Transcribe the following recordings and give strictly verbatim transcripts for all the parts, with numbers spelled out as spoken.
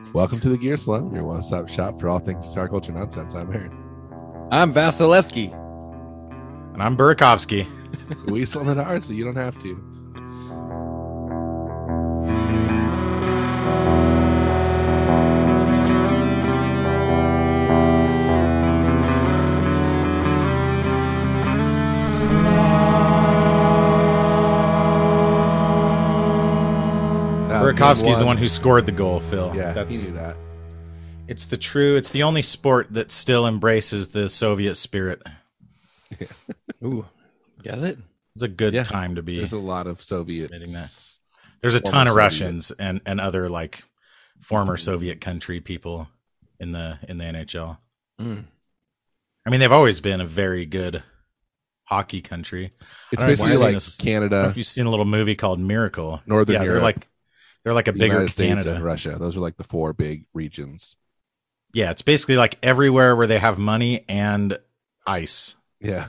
Welcome to the Gear Slum, your one-stop shop for all things guitar culture nonsense. I'm Aaron. I'm Vasilevsky. And I'm Burakovsky. We slum it hard so you don't have to. Burakovsky's the one who scored the goal, Phil. Yeah, That's, he knew that. It's the true, it's the only sport that still embraces the Soviet spirit. Ooh, does it? It's a good Yeah. time to be. There's a lot of Soviet. admitting that. There's a former ton of Soviet. Russians and, and other like former Soviet country people in the in the N H L. Mm. I mean, they've always been a very good hockey country. It's I don't know if basically you've seen like this- I don't know Canada, if you've seen a little movie called Miracle. Northern yeah, Europe, they're like they're like a the bigger United States, Canada. and Russia. Those are like the four big regions. Yeah, it's basically like everywhere where they have money and ice. Yeah.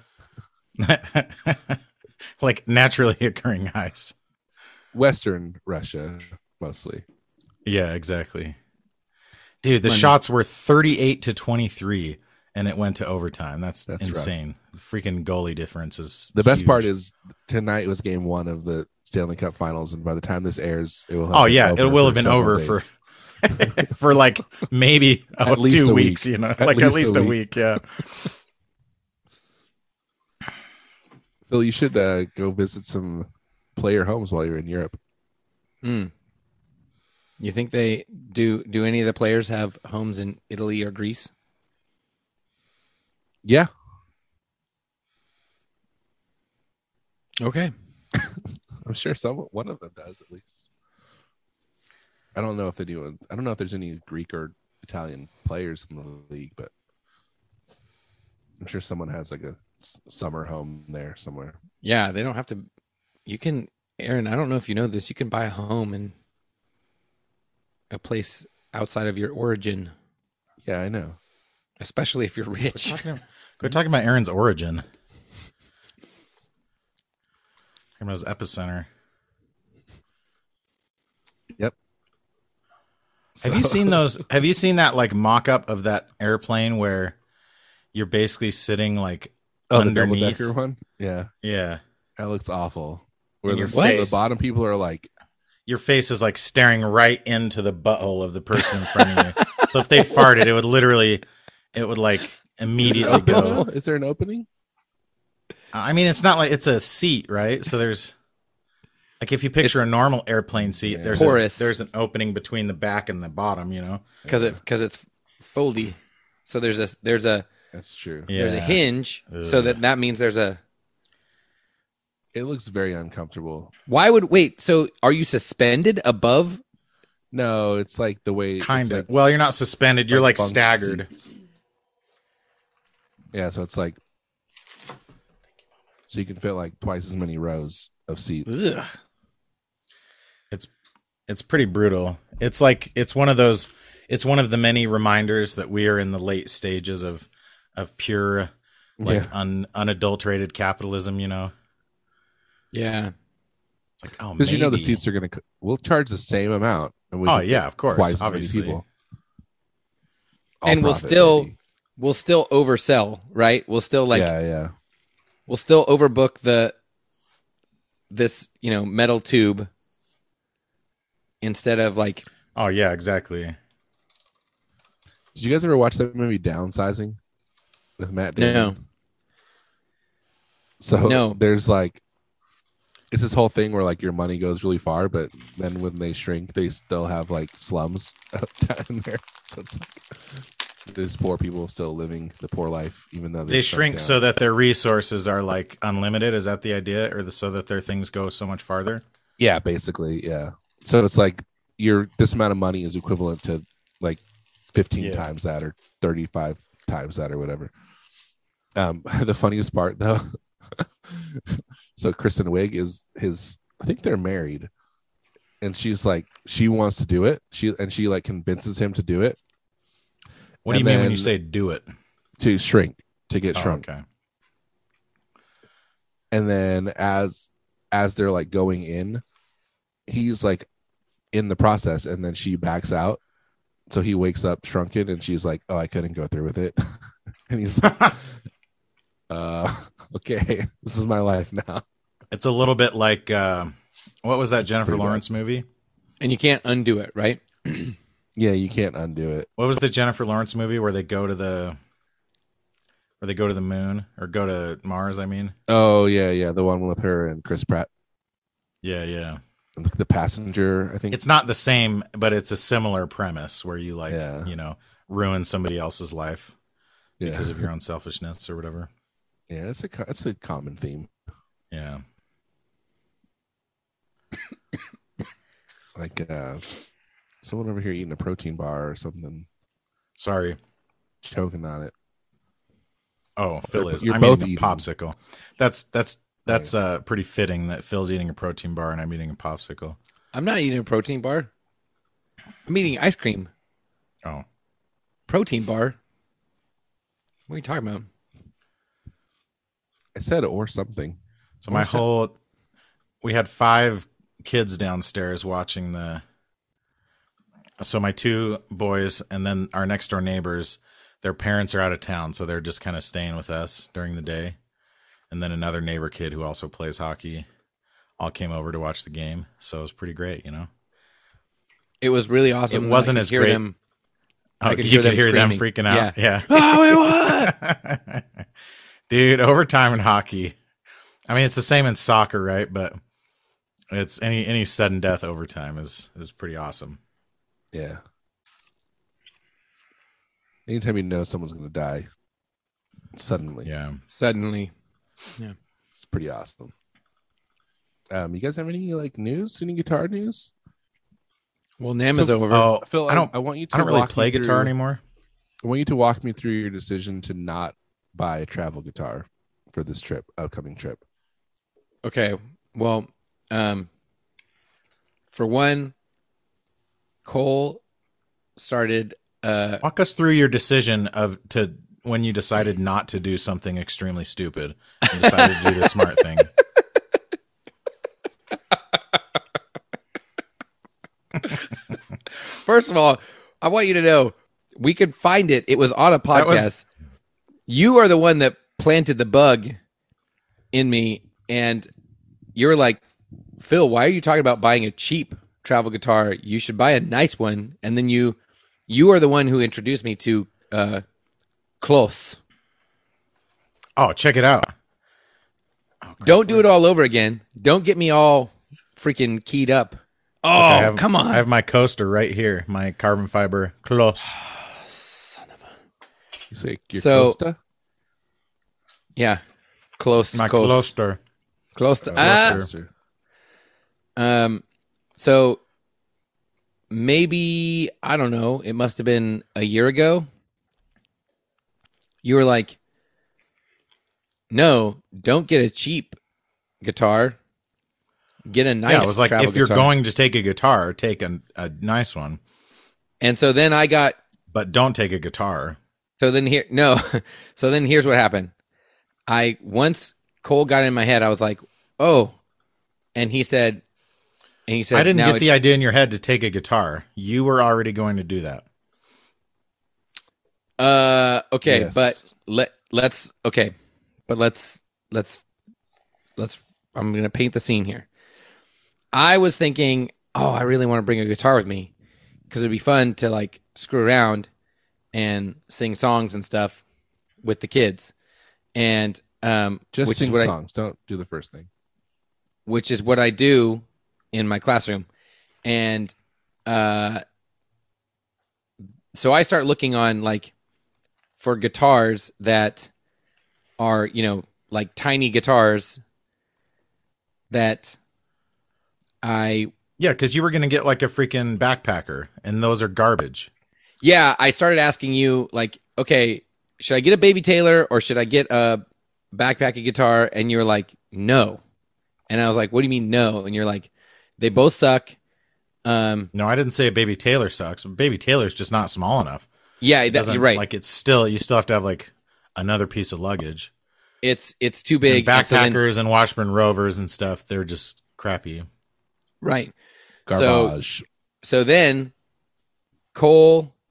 Like naturally occurring ice. Western Russia, mostly. Yeah, exactly. Dude, the Money. shots were thirty-eight to twenty-three and it went to overtime. That's, That's insane. Freaking goalie difference is The best huge. part is tonight was game one of the Stanley Cup Finals, and by the time this airs, it will have Oh been yeah, over it will for have been several over days. for for like maybe oh, At least two a week. weeks, you know. At like least at least a a week. week, yeah. Phil, you should uh, go visit some player homes while you're in Europe. Mm. You think they do? Do any of the players have homes in Italy or Greece? Yeah. Okay. I'm sure some one of them does at least. I don't know if anyone. I don't know if there's any Greek or Italian players in the league, but I'm sure someone has like a s- summer home there somewhere. Yeah, they don't have to. You can, Aaron. I don't know if you know this. You can buy a home in a place outside of your origin, Yeah, I know. especially if you're Quit rich. talking, quit talking about Aaron's origin. Talking about his epicenter. Yep. Have you So- seen those? Have you seen that like mock-up of that airplane where you're basically sitting like Oh, the underneath? double-decker one? Yeah, Yeah, that looks awful. Where And the, your the face. bottom people are like, your face is like staring right into the butthole of the person in front of you. So if they farted, it would literally, it would like immediately go. is there an opening? I mean, it's not like it's a seat, right? So there's like if you picture a normal airplane seat, Yeah. there's Porous. a, there's an opening between the back and the bottom. You know, because it because it's foldy. So there's a there's a That's true. yeah. there's a hinge. So Ugh. that that means there's a. It looks very uncomfortable. Why would wait? So are you suspended above? No, it's like the way it's Kind of. like- Well, you're not suspended. You're like bunk staggered. seats. Yeah, so it's like so you can fit like twice as many rows of seats. Ugh. It's it's pretty brutal. It's like it's one of those. It's one of the many reminders that we are in the late stages of of pure, like Yeah. un, unadulterated capitalism. You know, Yeah. it's like oh, Because you know the maybe. seats are gonna c- we'll charge the same amount. And we Oh can yeah, fit of course, twice as obviously. many people. All And we'll profit, still baby. we'll still oversell, right? We'll still like yeah, yeah. we'll still overbook the this, you know, metal tube instead of like Oh yeah, exactly. Did you guys ever watch that movie Downsizing with Matt Damon? No. So No. there's like it's this whole thing where like your money goes really far, but then when they shrink, they still have like slums down there. So it's like there's poor people still living the poor life, even though They shrink so that their resources are like unlimited. Is that the idea, or the, so that their things go so much farther? yeah, basically, yeah. So it's like your this amount of money is equivalent to like fifteen Yeah. times that or thirty-five times that or whatever. Um, the funniest part though. So Kristen Wiig is his. I think they're married, and she's like she wants to do it. She and she like convinces him to do it What do And you mean when you then- say do it? to shrink to get Oh, shrunk. okay. And then as as they're like going in, he's like in the process, and then she backs out So he wakes up shrunken, and she's like, "Oh, I couldn't go through with it." And he's like, uh, "Okay, this is my life now." It's a little bit like uh, what was that Jennifer pretty Lawrence movie? And you can't undo it, right? Yeah, you can't undo it. What was the Jennifer Lawrence movie where they go to the where they go to the moon or go to Mars? I mean, Oh yeah, yeah, the one with her and Chris Pratt, yeah, yeah. the passenger. I think It's not the same, but it's a similar premise where you like, Yeah. you know, ruin somebody else's life yeah, because of your own selfishness or whatever. yeah. It's a co- it's a common theme. Yeah. Like uh, someone over here eating a protein bar or something, Sorry. choking on it. Oh, Phil is. You're I'm both eating a eating. popsicle. That's that's that's Nice. uh pretty fitting that Phil's eating a protein bar and I'm eating a popsicle. I'm not eating a protein bar. I'm eating ice cream. Oh. Protein bar? What are you talking about? I said or something. So my What's that? whole we had five kids downstairs watching the so my two boys and then our next door neighbors, their parents are out of town, so they're just kind of staying with us during the day. And then another neighbor kid who also plays hockey all came over to watch the game. So it was pretty great, you know. It was really awesome. It wasn't I could as hear great. Them, Oh, I could you hear could them hear them screaming. freaking out. Yeah. Oh, we won! Dude, overtime in hockey. I mean, it's the same in soccer, right? But it's any any sudden death overtime is is pretty awesome. Yeah. Anytime you know someone's gonna die suddenly, Yeah. Suddenly. it's pretty awesome. Um, you guys have any like news? Any guitar news? Well, Nam is So- over. Oh, Phil, I don't I want you to I don't really walk me play guitar through- anymore. I want you to walk me through your decision to not buy a travel guitar for this trip, upcoming trip. Okay. Well, um, for one, Cole started. Uh, Walk us through your decision of to when you decided not to do something extremely stupid and decided to do the smart thing. first of all, I want you to know we could find it. It was on a That was- podcast. You are the one that planted the bug in me, and you're like, Phil, why are you talking about buying a cheap travel guitar? You should buy a nice one. And then you, you are the one who introduced me to uh, Close. Oh, check it out. Don't do it all over again. Don't get me all freaking keyed up. Oh, I have, come on. I have my coaster right here, my carbon fiber close. You say your So- Costa? yeah. Close. My close. coaster. Close to. Uh, Ah! Coaster. Um, so maybe, I don't know, it must have been a year ago. You were like, no, don't get a cheap guitar. Get a nice Yeah, it was like travel if you're guitar. going to take a guitar, take a, a nice one, And so then I got, but don't take a guitar. so then here, no. So then here's what happened. I, once Cole got in my head, I was like, oh, and he said, and he said, I didn't now get it- the idea in your head to take a guitar. You were already going to do that. Uh, okay, Yes. but let let's okay, but let's let's let's. I'm gonna paint the scene here. I was thinking, oh, I really want to bring a guitar with me because it'd be fun to like screw around and sing songs and stuff with the kids, and um, Just which sing is what I, songs. Don't do the first thing. which is what I do in my classroom. And uh, so I start looking on like for guitars that are, you know, like tiny guitars that I, Yeah, because you were going to get like a freaking backpacker, and those are garbage. yeah, I started asking you like, okay, should I get a Baby Taylor or should I get a backpacky guitar? And you're like, no. And I was like, what do you mean no? And you're like, they both suck. Um, No, I didn't say a Baby Taylor sucks. Baby Taylor's just not small enough. yeah, It that, doesn't- you're right. Like it's still, you still have to have like another piece of luggage. It's it's too And big. and so then- backpackers and Washburn Rovers and stuff, they're just crappy. right. So Garbage. so then Cole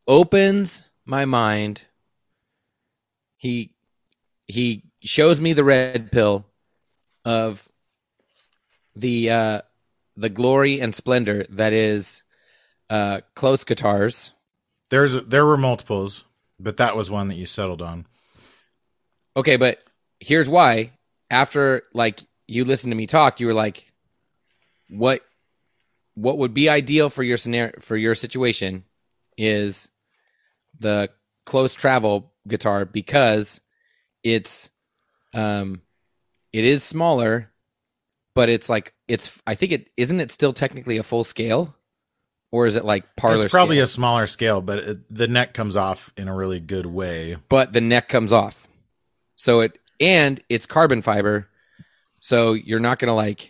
opens my mind. He he shows me the red pill of the uh, the glory and splendor that is uh, close guitars. There's there were multiples, but that was one that you settled on. Okay, but here's why. After like you listened to me talk, you were like, "What what would be ideal for your scenario for your situation is the close travel guitar because it's um it is smaller, but it's like it's I think it isn't it still technically a full scale, or is it like parlor? It's probably scale? a smaller scale, but it, the neck comes off in a really good way. But the neck comes off, so it and it's carbon fiber, so you're not gonna like.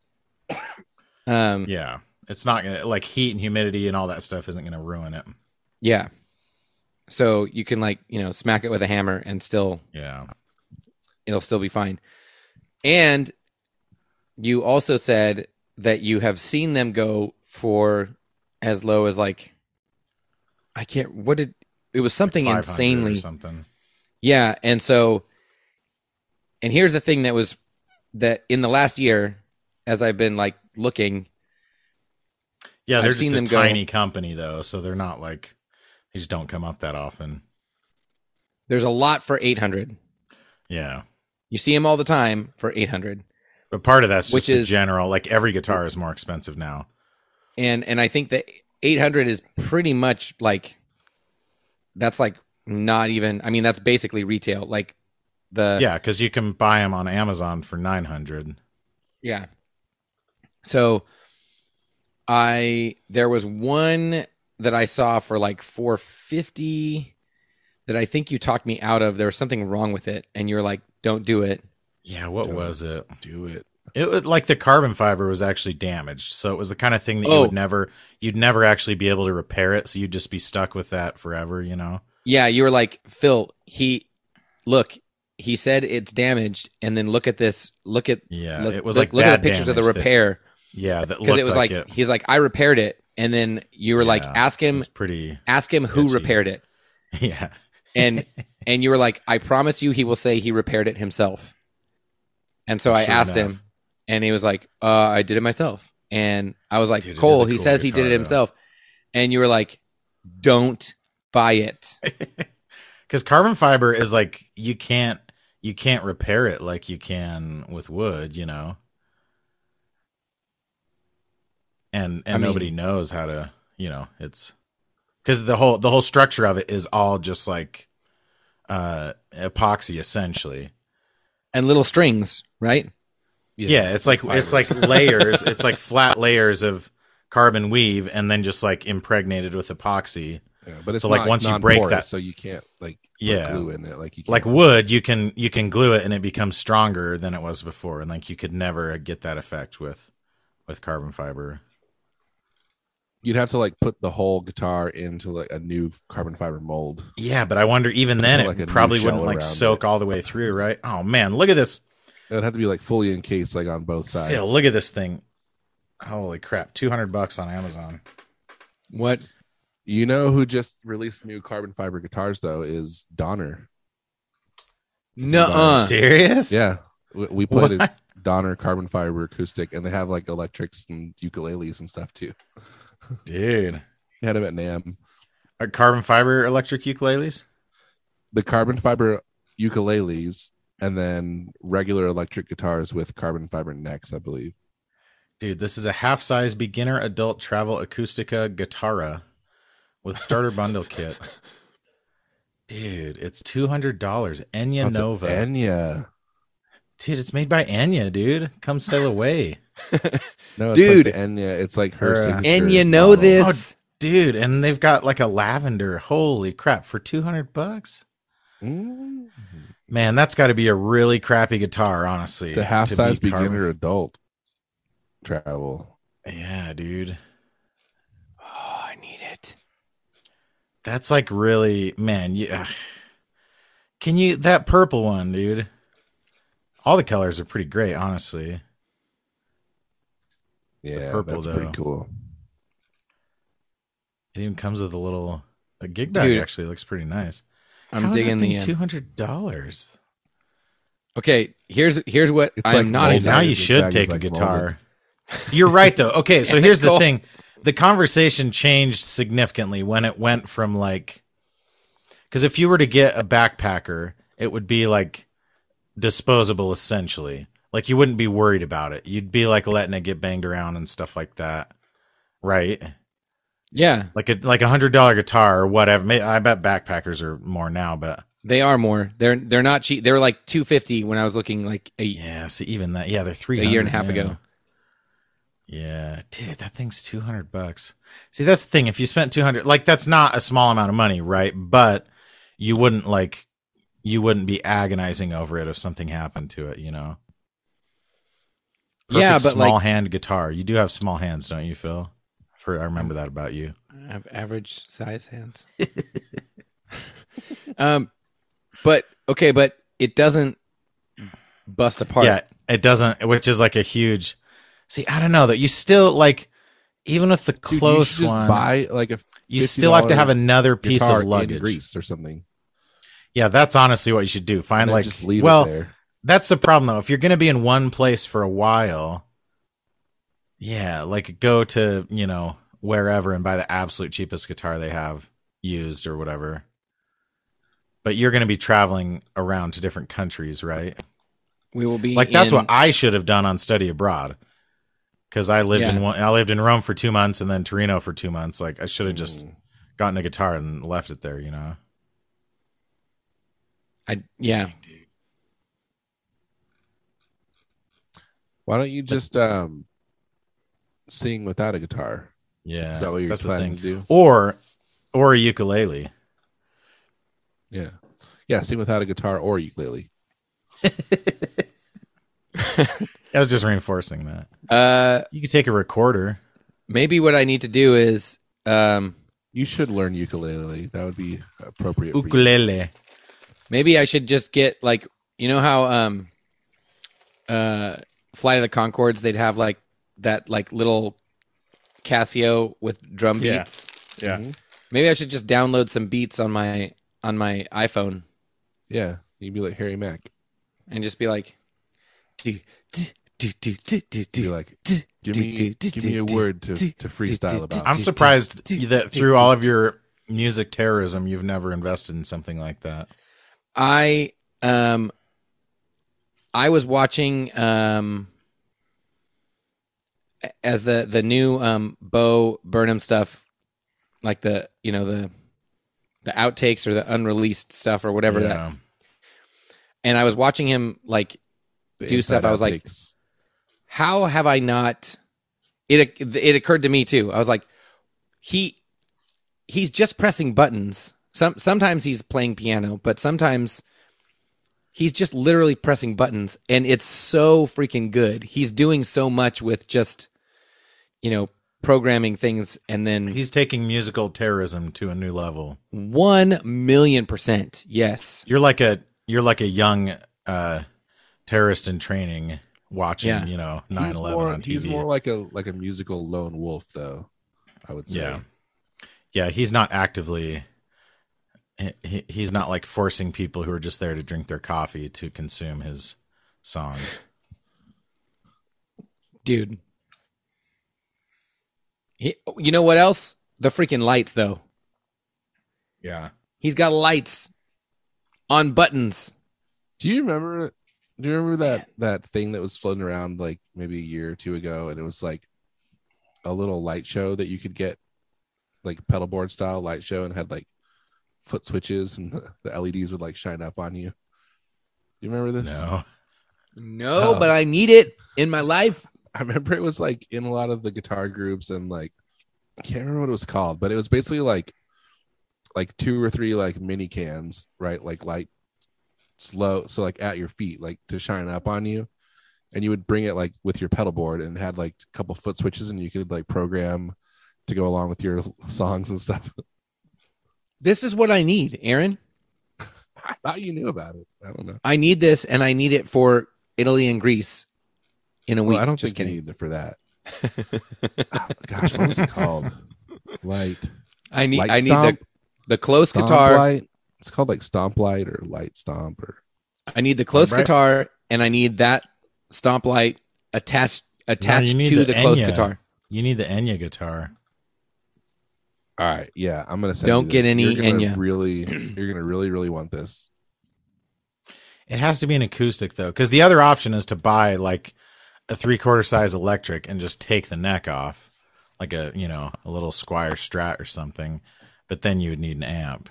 Um, Yeah, it's not gonna like heat and humidity and all that stuff isn't gonna ruin it. yeah, so you can like you know smack it with a hammer and still Yeah, it'll still be fine. And you also said that you have seen them go for as low as like I can't what did it was something five hundred insanely or something. Yeah, and so and here's the thing that was that in the last year as I've been like looking Yeah, they're I've just seen a them go- tiny company though, so they're not like they just don't come up that often. there's a lot for eight hundred. Yeah, You see them all the time for eight hundred. but part of that's just Which the is- general. Like every guitar is more expensive now. And and I think that eight hundred is pretty much like that's like not even I mean that's basically retail like the Yeah, because you can buy them on Amazon for nine hundred. Yeah. So I there was one that I saw for like four fifty that I think you talked me out of. There was something wrong with it and you're like don't do it. Yeah, what Don't was it? Do it. It was like the carbon fiber was actually damaged, so it was the kind of thing that you Oh. would never, you'd never actually be able to repair it. So you'd just be stuck with that forever, you know? Yeah, you were like Phil, he look, he said it's damaged and then look at this, look at Yeah, look, it was look, like look at bad the pictures of the damage that- repair Yeah, that because looked it was like, like, it. he's like I repaired it and then you were like Yeah, ask It him was pretty. ask him who sketchy. repaired it. Yeah, and and you were like, I promise you, he will say he repaired it himself. And so I Sure asked enough. him, and he was like, uh, I did it myself. And I was like, Dude, it is Cole, a he cool says he did guitar, it though. himself. And you were like, don't buy it. because carbon fiber is like you can't you can't repair it like you can with wood, you know. And and I mean- nobody knows how to, you know, it's because the whole the whole structure of it is all just like uh epoxy essentially. And little strings, right? Yeah, it's like it's like layers. It's like flat layers of carbon weave, and then just like impregnated with epoxy. Yeah, but it's So, like, not once you break non-porous, that- so you can't like put Yeah. glue in it. Like you can't. Like wood, you can you can glue it, and it becomes stronger than it was before. And like you could never get that effect with with carbon fiber. You'd have to like put the whole guitar into like a new carbon fiber mold. Yeah, but I wonder even then Like a it new probably shell wouldn't like around soak all the way through, right? Oh man, look at this. It would have to be like fully encased, like on both sides. Phil, look at this thing. Holy crap, two hundred bucks on Amazon. What? You know who just released new carbon fiber guitars though is Donner. Nuh-uh. Serious? Yeah, we, we played a What? Donner carbon fiber acoustic, and they have like electrics and ukuleles and stuff too. Dude. We had them at NAMM. Are carbon fiber electric ukuleles? The carbon fiber ukuleles, and then regular electric guitars with carbon fiber necks, I believe. Dude, this is a half-size beginner adult travel acoustica guitarra with starter bundle kit. Dude, it's two hundred dollars. Enya Oh, it's an Nova. Enya. Dude, it's made by Enya, dude. Come sail away. No, it's Dude. like the Enya. It's like her Or, uh, signature. And you know model. this. Dude, and they've got like a lavender. Holy crap, for two hundred bucks? Mm. Man, that's got to be a really crappy guitar, honestly. It's a to half size be carbon- beginner adult travel. Yeah, dude. Oh, I need it. That's like really, man, yeah. Can you, that purple one, dude? All the colors are pretty great, honestly. Yeah, purple, that's though. pretty cool. It even comes with a little The gig bag Dude. actually looks pretty nice. I'm How is digging that thing the. two Um, hundred dollars. okay, here's here's what It's I'm like not molded. Now excited. you Gig should bag take is a like guitar. You're right, though. Okay, so Damn here's it, the Cole. thing: the conversation changed significantly when it went from like, because if you were to get a backpacker, it would be like disposable, essentially. Like you wouldn't be worried about it. You'd be like letting it get banged around and stuff like that, right? Yeah, Like a like a hundred dollar guitar or whatever. May- I bet backpackers are more now, but they are more. They're they're not cheap. They were like two fifty when I was looking like a, yeah. See, even that, yeah, they're three a hundred year and a half now. ago. Yeah, dude, that thing's two hundred bucks. See, that's the thing. If you spent two hundred, like that's not a small amount of money, right? But you wouldn't like, you wouldn't be agonizing over it if something happened to it, you know? Perfect Yeah, but small like hand guitar. You do have small hands, don't you, Phil? For I remember that about you. I have average size hands. um, but okay, but it doesn't bust apart. Yeah, it doesn't, which is like a huge. See, I don't know that you still like, even with the Dude, you close should just one, buy like a you still have to have another piece guitar of in luggage. Greece or something. Yeah, that's honestly what you should do. Find And then like, just leave well, it there. that's the problem though. If you're going to be in one place for a while, yeah, like go to, you know, wherever and buy the absolute cheapest guitar they have used or whatever. But you're going to be traveling around to different countries, right? We will be Like that's in- what I should have done on study abroad. Cuz I lived Yeah. in one, I lived in Rome for two months and then Torino for two months. Like I should have just Mm. gotten a guitar and left it there, you know. I yeah. Why don't you just um sing without a guitar? Yeah. Is that what you're that's the planning thing. to do? Or or a ukulele. Yeah. Yeah, sing without a guitar or ukulele. I was just reinforcing that. Uh, You could take a recorder. maybe what I need to do is um, You should learn ukulele. That would be appropriate for you. Ukulele. maybe I should just get like you know how um, uh, Flight of the Conchords they'd have like that like little Casio with drum Yeah. beats. Yeah. Mhm. Maybe I should just download some beats on my on my iPhone Yeah. You'd be like Harry Mack. and just be like, do, do, do, do, do, do, You'd be do. like, give me give me a word to, to freestyle about. I'm surprised that through all of your music terrorism, you've never invested in something like that. I um I was watching um as the the new um Bo Burnham stuff, like the you know the the outtakes or the unreleased stuff or whatever that, Yeah. and I was watching him like The do stuff, inside I was like, outtakes. how have I not? It it occurred to me too. I was like, he he's just pressing buttons. Some sometimes he's playing piano, but sometimes he's just literally pressing buttons, and it's so freaking good. He's doing so much with just you know programming things, and then He's taking musical terrorism to a new level. one million percent yes. You're like a you're like a young uh, terrorist in training watching, Yeah. you know, He's nine eleven more, on T he's V. more like a like a musical lone wolf, though. I would say. Yeah. Yeah, he's not actively he, he's not like forcing people who are just there to drink their coffee to consume his songs. Dude. He, you know what else? The freaking lights, though. Yeah. He's got lights on buttons. Do you remember? Do you remember that that thing that was floating around like maybe a year or two ago, and it was like a little light show that you could get, like pedal board style light show, and had like foot switches, and the L E Ds would like shine up on you. Do you remember this? No. No, Oh. but I need it in my life. I remember it was like in a lot of the guitar groups, and like I can't remember what it was called, but it was basically like like two or three like mini cans, right? Like light slow, so like at your feet, like to shine up on you, and you would bring it like with your pedal board, and it had like a couple foot switches, and you could like program to go along with your songs and stuff. This is what I need, Aaron. I thought you knew about it. I don't know. I need this, and I need it for Italy and Greece in a week. Well, I don't Just think kidding. you need it for that. Oh, gosh, what was it called? Light. I need. Light I need Stomp? the. the close Stomp guitar. light. It's called like Stomp Light or Light Stomp or. I need the close Right. guitar, and I need that stomp light attached attached you need to the the, close Enya. guitar. You need the Enya guitar. All right, yeah, I'm gonna send Don't you get this. any You're gonna Enya. really, you're gonna really, really want this. It has to be an acoustic though, because the other option is to buy like a three quarter size electric and just take the neck off, like a you know a little Squire Strat or something. But then you would need an amp.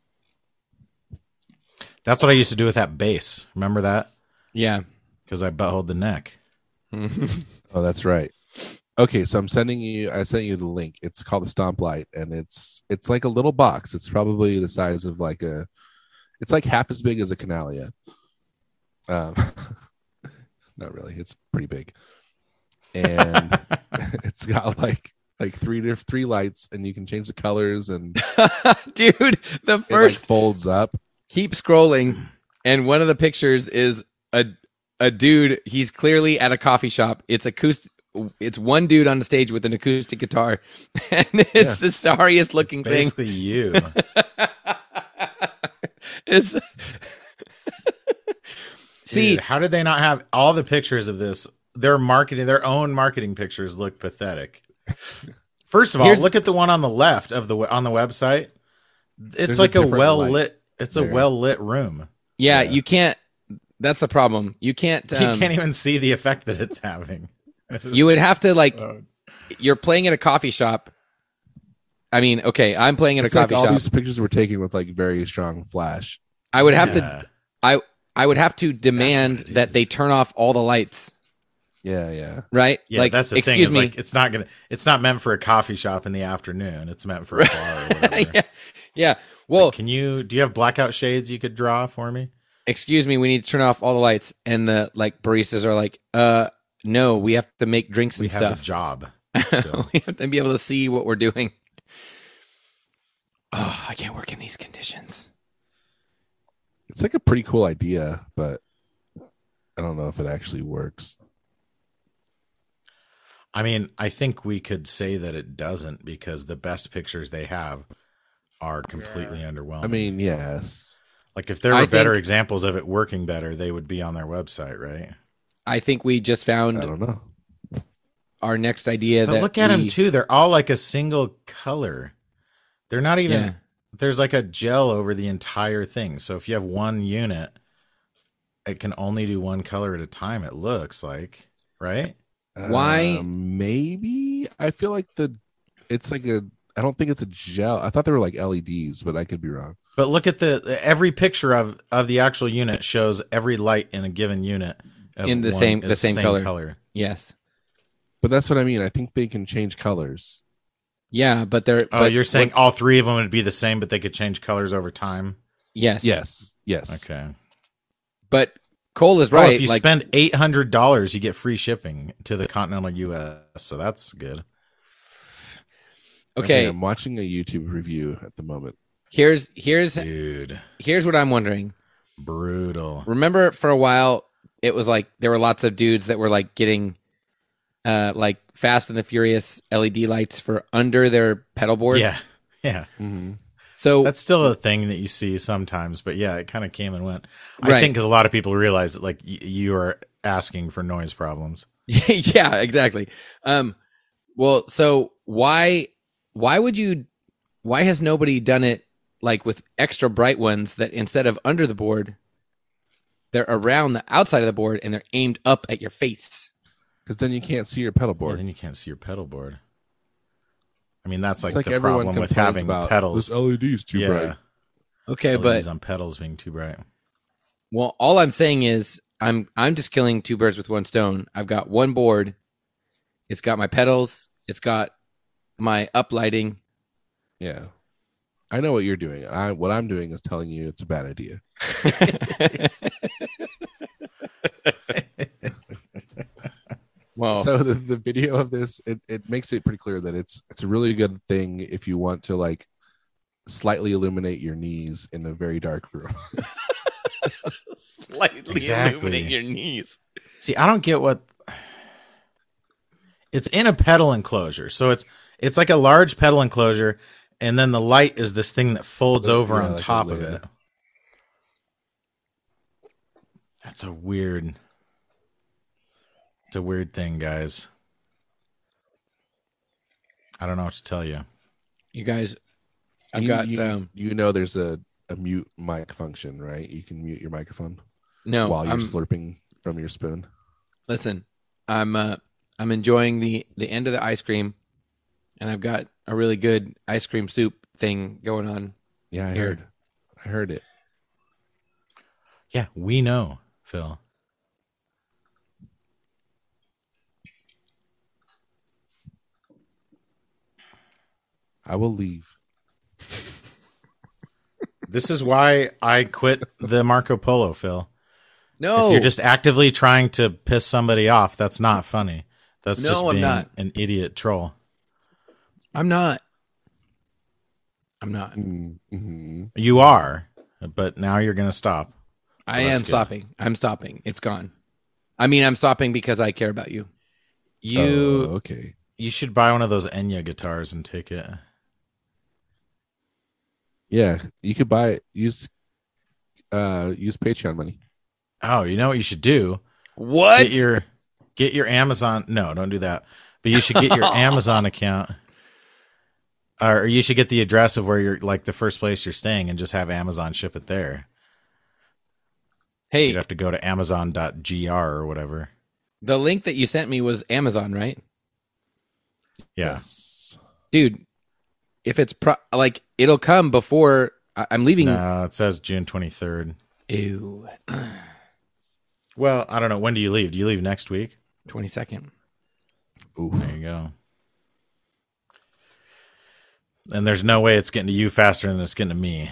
That's what I used to do with that bass. Remember that? Yeah. Because I butthole the neck. Oh, that's right. Okay, so I'm sending you. I sent you the link. It's called the Stomp Light, and it's it's like a little box. It's probably the size of like a. It's like half as big as a Canalia. Um, not really. It's pretty big, and it's got like like three diff- three lights, and you can change the colors, and Dude, the it like first folds up. keep scrolling, and one of the pictures is a a dude. He's clearly at a coffee shop. It's acoustic. It's one dude on the stage with an acoustic guitar, and it's Yeah. the sorriest looking thing. Basically, you. It's see, Dude, how did they not have all the pictures of this? Their marketing, their own marketing pictures look pathetic. First of all, Here's- look at the one on the left of the on the website. It's There's a like a, different well light lit. It's a there. well lit room. yeah, Yeah. you can't. That's the problem. You can't. You Um, can't even see the effect that it's having. you would have to like. So- You're playing at a coffee shop. I mean, okay, I'm playing at It's a like coffee all shop. these pictures were taken with like very strong flash. I would have to. Yeah. I I would have to demand it that they is. turn off all the lights. Yeah, yeah. Right? Yeah, like, that's the thing. excuse Is me. like it's not gonna. It's not meant for a coffee shop in the afternoon. It's meant for a bar. Or whatever. yeah, yeah. Well, Can you? Do you have blackout shades you could draw for me? excuse me. We need to turn off all the lights, and the like baristas are like, uh, no, we have to make drinks We and have stuff. a job. Still. We have to be able to see what we're doing. Oh, I can't work in these conditions. It's like a pretty cool idea, but I don't know if it actually works. I mean, I think we could say that it doesn't because the best pictures they have are completely underwhelming. I mean, yes. like if there were I better think- examples of it working better, they would be on their website, right? I think we just I found don't know. our next idea. But that look at them we- too. They're all like a single color. They're not even. Yeah. There's like a gel over the entire thing. So if you have one unit, it can only do one color at a time. It looks like, right? Why- Um, maybe I feel like the it's like a. I don't think it's a gel. I thought they were like L E Ds, but I could be wrong. But look at the every picture of of the actual unit shows every light in a given unit of In the one- same- is the same color. Yes. But that's what I mean. I think they can change colors. Yeah, but they're. Oh, but you're saying what- all three of them would be the same, but they could change colors over time. yes, Yes, yes. Okay. But Cole is Oh, right. if you like, spend eight hundred dollars, you get free shipping to the continental U S. So that's good. okay, I'm watching a YouTube review at the moment. here's here's Dude, here's what I'm wondering. brutal. Remember, for a while, it was like there were lots of dudes that were like getting, uh, like Fast and the Furious L E D lights for under their pedal boards. Yeah. Yeah. Mm-hmm. So That's still a thing that you see sometimes, but yeah, it kind of came and went. I Right. think because a lot of people realize that like y- you are asking for noise problems. yeah, exactly. Um, well, so why why would you? Why has nobody done it like with extra bright ones that instead of under the board, they're around the outside of the board and they're aimed up at your face? Because then you can't see your pedal Yeah, board. then you can't see your pedal board. I mean, that's like, it's like the everyone problem with complains having about pedals. this L E D is too yeah, bright. Okay, L E Ds but on pedals being too bright. well, all I'm saying is I'm I'm just killing two birds with one stone. I've got one board. It's got my pedals. It's got my uplighting. Yeah, I know what you're doing. I what I'm doing is telling you it's a bad idea. Well, So the, the video of this it, it makes it pretty clear that it's it's a really good thing if you want to like slightly illuminate your knees in a very dark room. slightly Exactly. illuminate your knees. See, I don't get what it's in a pedal enclosure. So it's it's like a large pedal enclosure, and then the light is this thing that folds over Yeah, on like a top of lid. it. That's a weird. It's a weird thing, guys. I don't know what to tell you. You guys, I've you, got you, um, you know there's a, a mute mic function, right? You can mute your microphone no. while you're I'm, slurping from your spoon. listen, I'm uh, I'm enjoying the the end of the ice cream, and I've got a really good ice cream soup thing going on. Yeah, I Here. heard. I heard it. Yeah, we know, Phil. I will leave. This is why I quit the Marco Polo, Phil. No, If you're just actively trying to piss somebody off, that's not funny. That's No, just I'm being not. an idiot troll. I'm not. I'm not. Mm-hmm. You are, but now you're going to stop. I that's am good. stopping. I'm stopping. It's gone. I mean, I'm stopping because I care about you. You Oh, okay. you should buy one of those Enya guitars and take it. Yeah, you could buy it. Use uh use Patreon money. Oh, you know what you should do? What? Get your get your Amazon. No, don't do that. But you should get your Amazon account, or you should get the address of where you're, like the first place you're staying, and just have Amazon ship it there. Hey, You'd have to go to amazon dot g r or whatever. the link that you sent me was Amazon, right? Yeah. Yes. Dude, if it's pro- like it'll come before I- I'm leaving. No, it says June twenty-third. Ew. Well, I don't know. When do you leave? Do you leave next week? twenty-second. Oof. There you go. And there's no way it's getting to you faster than it's getting to me.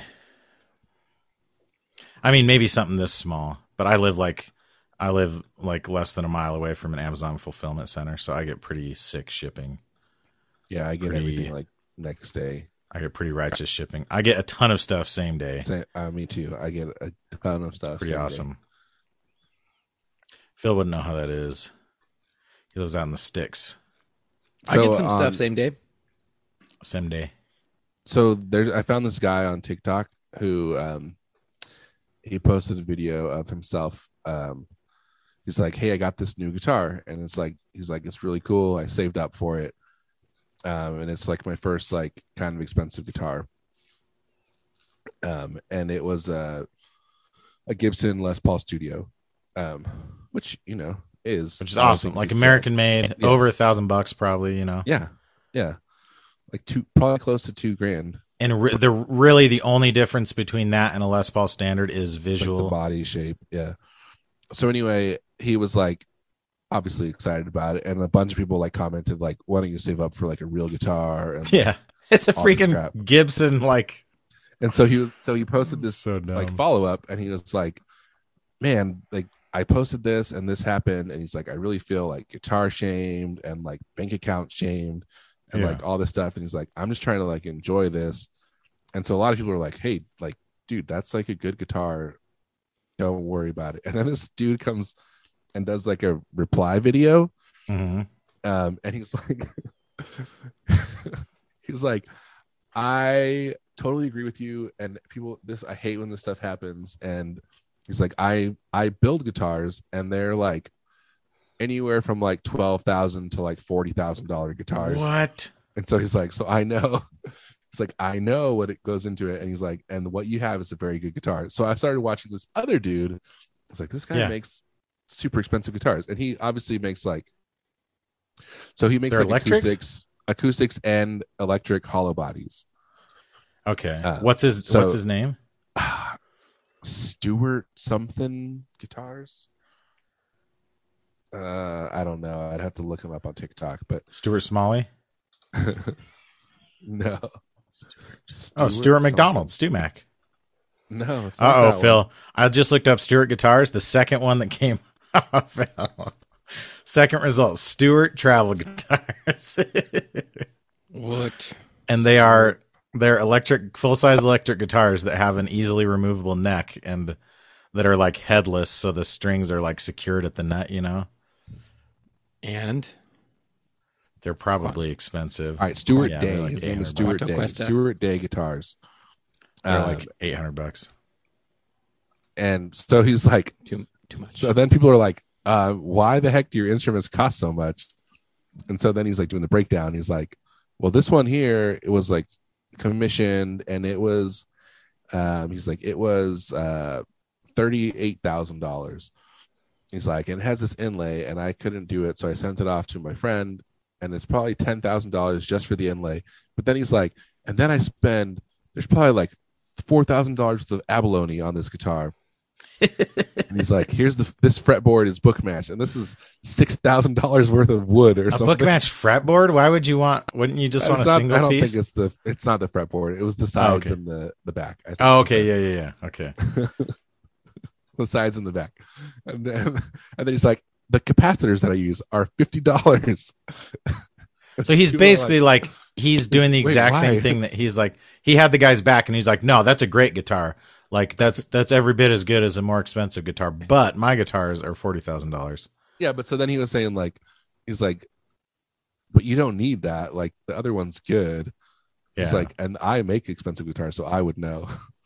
I mean, maybe something this small, but I live like I live like less than a mile away from an Amazon fulfillment center, so I get pretty sick shipping. Yeah, I get Pretty- everything like next day. I get pretty righteous shipping. I get a ton of stuff same day. Sa- uh, me too. I get a ton of stuff. Pretty same day. awesome. Phil wouldn't know how that is. He lives out in the sticks. I get So, some um, stuff same day. Same day. So there, I found this guy on TikTok who um, he posted a video of himself. Um, he's like, "Hey, I got this new guitar," and it's like he's like, "It's really cool. I saved up for it, um, and it's like my first like kind of expensive guitar." Um, and it was a a Gibson Les Paul Studio, um, which you know is Which is I don't awesome. think Like it's, uh, American made, yes. over a thousand bucks probably, you know. yeah, yeah, like two, probably close to two grand. And re- the really the only difference between that and a Les Paul standard is Like visual. the body shape. Yeah. So anyway, he was like obviously excited about it, and a bunch of people like commented like, "Why don't you save up for like a real guitar?" And Yeah. It's a all this freaking crap. Gibson like and so he was so he posted this so dumb. like follow up, and he was like, "Man, like I posted this and this happened," and he's like, "I really feel like guitar shamed and like bank account shamed and Yeah. like all this stuff." And he's like, "I'm just trying to like enjoy this." And so a lot of people are like, "Hey, like, dude, that's like a good guitar. Don't worry about it." And then this dude comes and does like a reply video, Mhm. um, and he's like, he's like, "I totally agree with you." And people, this I hate when this stuff happens. And he's like, "I I build guitars, and they're like anywhere from like twelve thousand to like forty thousand dollar guitars." What? And so he's like, "So I know." It's like, I know what it goes into it. And he's like, and what you have is a very good guitar. So I started watching this other dude. It's like, this guy Yeah. makes super expensive guitars. And he obviously makes like, so he makes They're like electrics? acoustics, acoustics and electric hollow bodies. Okay. Uh, what's his so- what's his name? Stewart something guitars. Uh, I don't know. I'd have to look him up on TikTok, but Stuart Smalley? no. Oh, Stuart something. McDonald, Stu Mac. No. it's not Uh oh, that one. Phil. I just looked up Stuart guitars. The second one that came up. Second result, Stuart travel guitars. What? And they are they're electric full size electric guitars that have an easily removable neck and that are like headless, so the strings are like secured at the nut, you know? And They're probably expensive. All right, Stuart Yeah, Day. they're like His name is eight hundred Stuart bucks. Day. Questa. Stuart Day Guitars. They're Um, like eight hundred bucks. and so he's like, Too too much. so then people are like, uh, why the heck do your instruments cost so much? And so then he's like doing the breakdown. He's like, well, this one here, it was like commissioned and it was, um, he's like, it was uh, thirty-eight thousand dollars. He's like, and it has this inlay and I couldn't do it. So I sent it off to my friend and it's probably ten thousand dollars just for the inlay. But then he's like, and then I spend, there's probably like four thousand dollars worth of abalone on this guitar. And he's like, here's the this fretboard is book match, and this is six thousand dollars worth of wood or A something. book match fretboard? Why would you want? Wouldn't you just It's want a not- single I don't piece? think it's the it's not the fretboard. It was the sides okay. and the the back. I think Oh, it's okay, the- yeah, yeah, yeah. Okay. the sides and the back, and then, and then he's like, the capacitors that I use are fifty dollars. So he's People are basically like, he's doing the Wait, exact why? same thing that he's like. He had the guy's back, and he's like, "No, that's a great guitar. Like that's that's every bit as good as a more expensive guitar. But my guitars are forty thousand dollars." Yeah, but so then he was saying like, he's like, but you don't need that. Like the other one's good. Yeah. It's like, and I make expensive guitars, so I would know.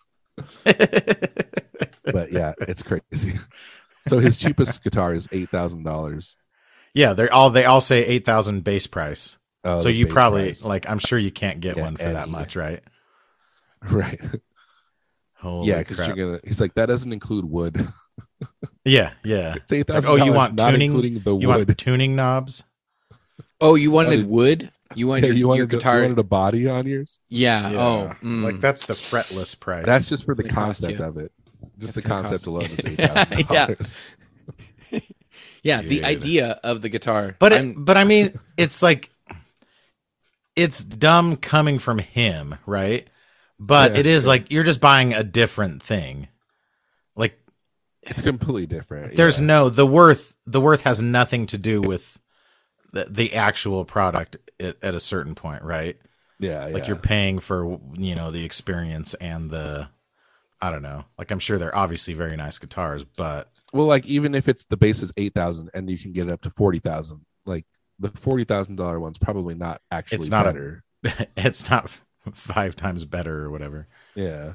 But yeah, it's crazy. So his cheapest guitar is eight thousand dollars. yeah, they're all they all say eight thousand base price. Oh, so the you base probably price. like. I'm sure you can't get Yeah, one for that any. much, right? Right. Holy Yeah, because crap. you're gonna. He's like, that doesn't include wood. Yeah, yeah. It's eight It's like, thousand. oh, you want not tuning? including the You wood. want tuning knobs? Oh, you wanted wanted- wood? You wanted Yeah, your, you wanted your to- guitar? you wanted a body on yours. yeah. Yeah. Oh, mm. Like that's the fretless price. That's just for the It cost concept you. of it. Just It's the gonna concept cost- alone is eight thousand Yeah. dollars. yeah. The Dude. idea of the guitar, But it, I'm- but I mean, it's like it's dumb coming from him, right? But Yeah, it is yeah. like you're just buying a different thing. Like It's completely different. there's yeah. no the worth. The worth has nothing to do with the, the actual product at, at a certain point, right? Yeah, Like yeah. you're paying for you know the experience and the I don't know. Like I'm sure they're obviously very nice guitars, but Well, like even if it's the base is eight thousand and you can get it up to forty thousand, like the forty thousand dollar one's probably not actually It's not a- better. it's not f- five times better or whatever. Yeah.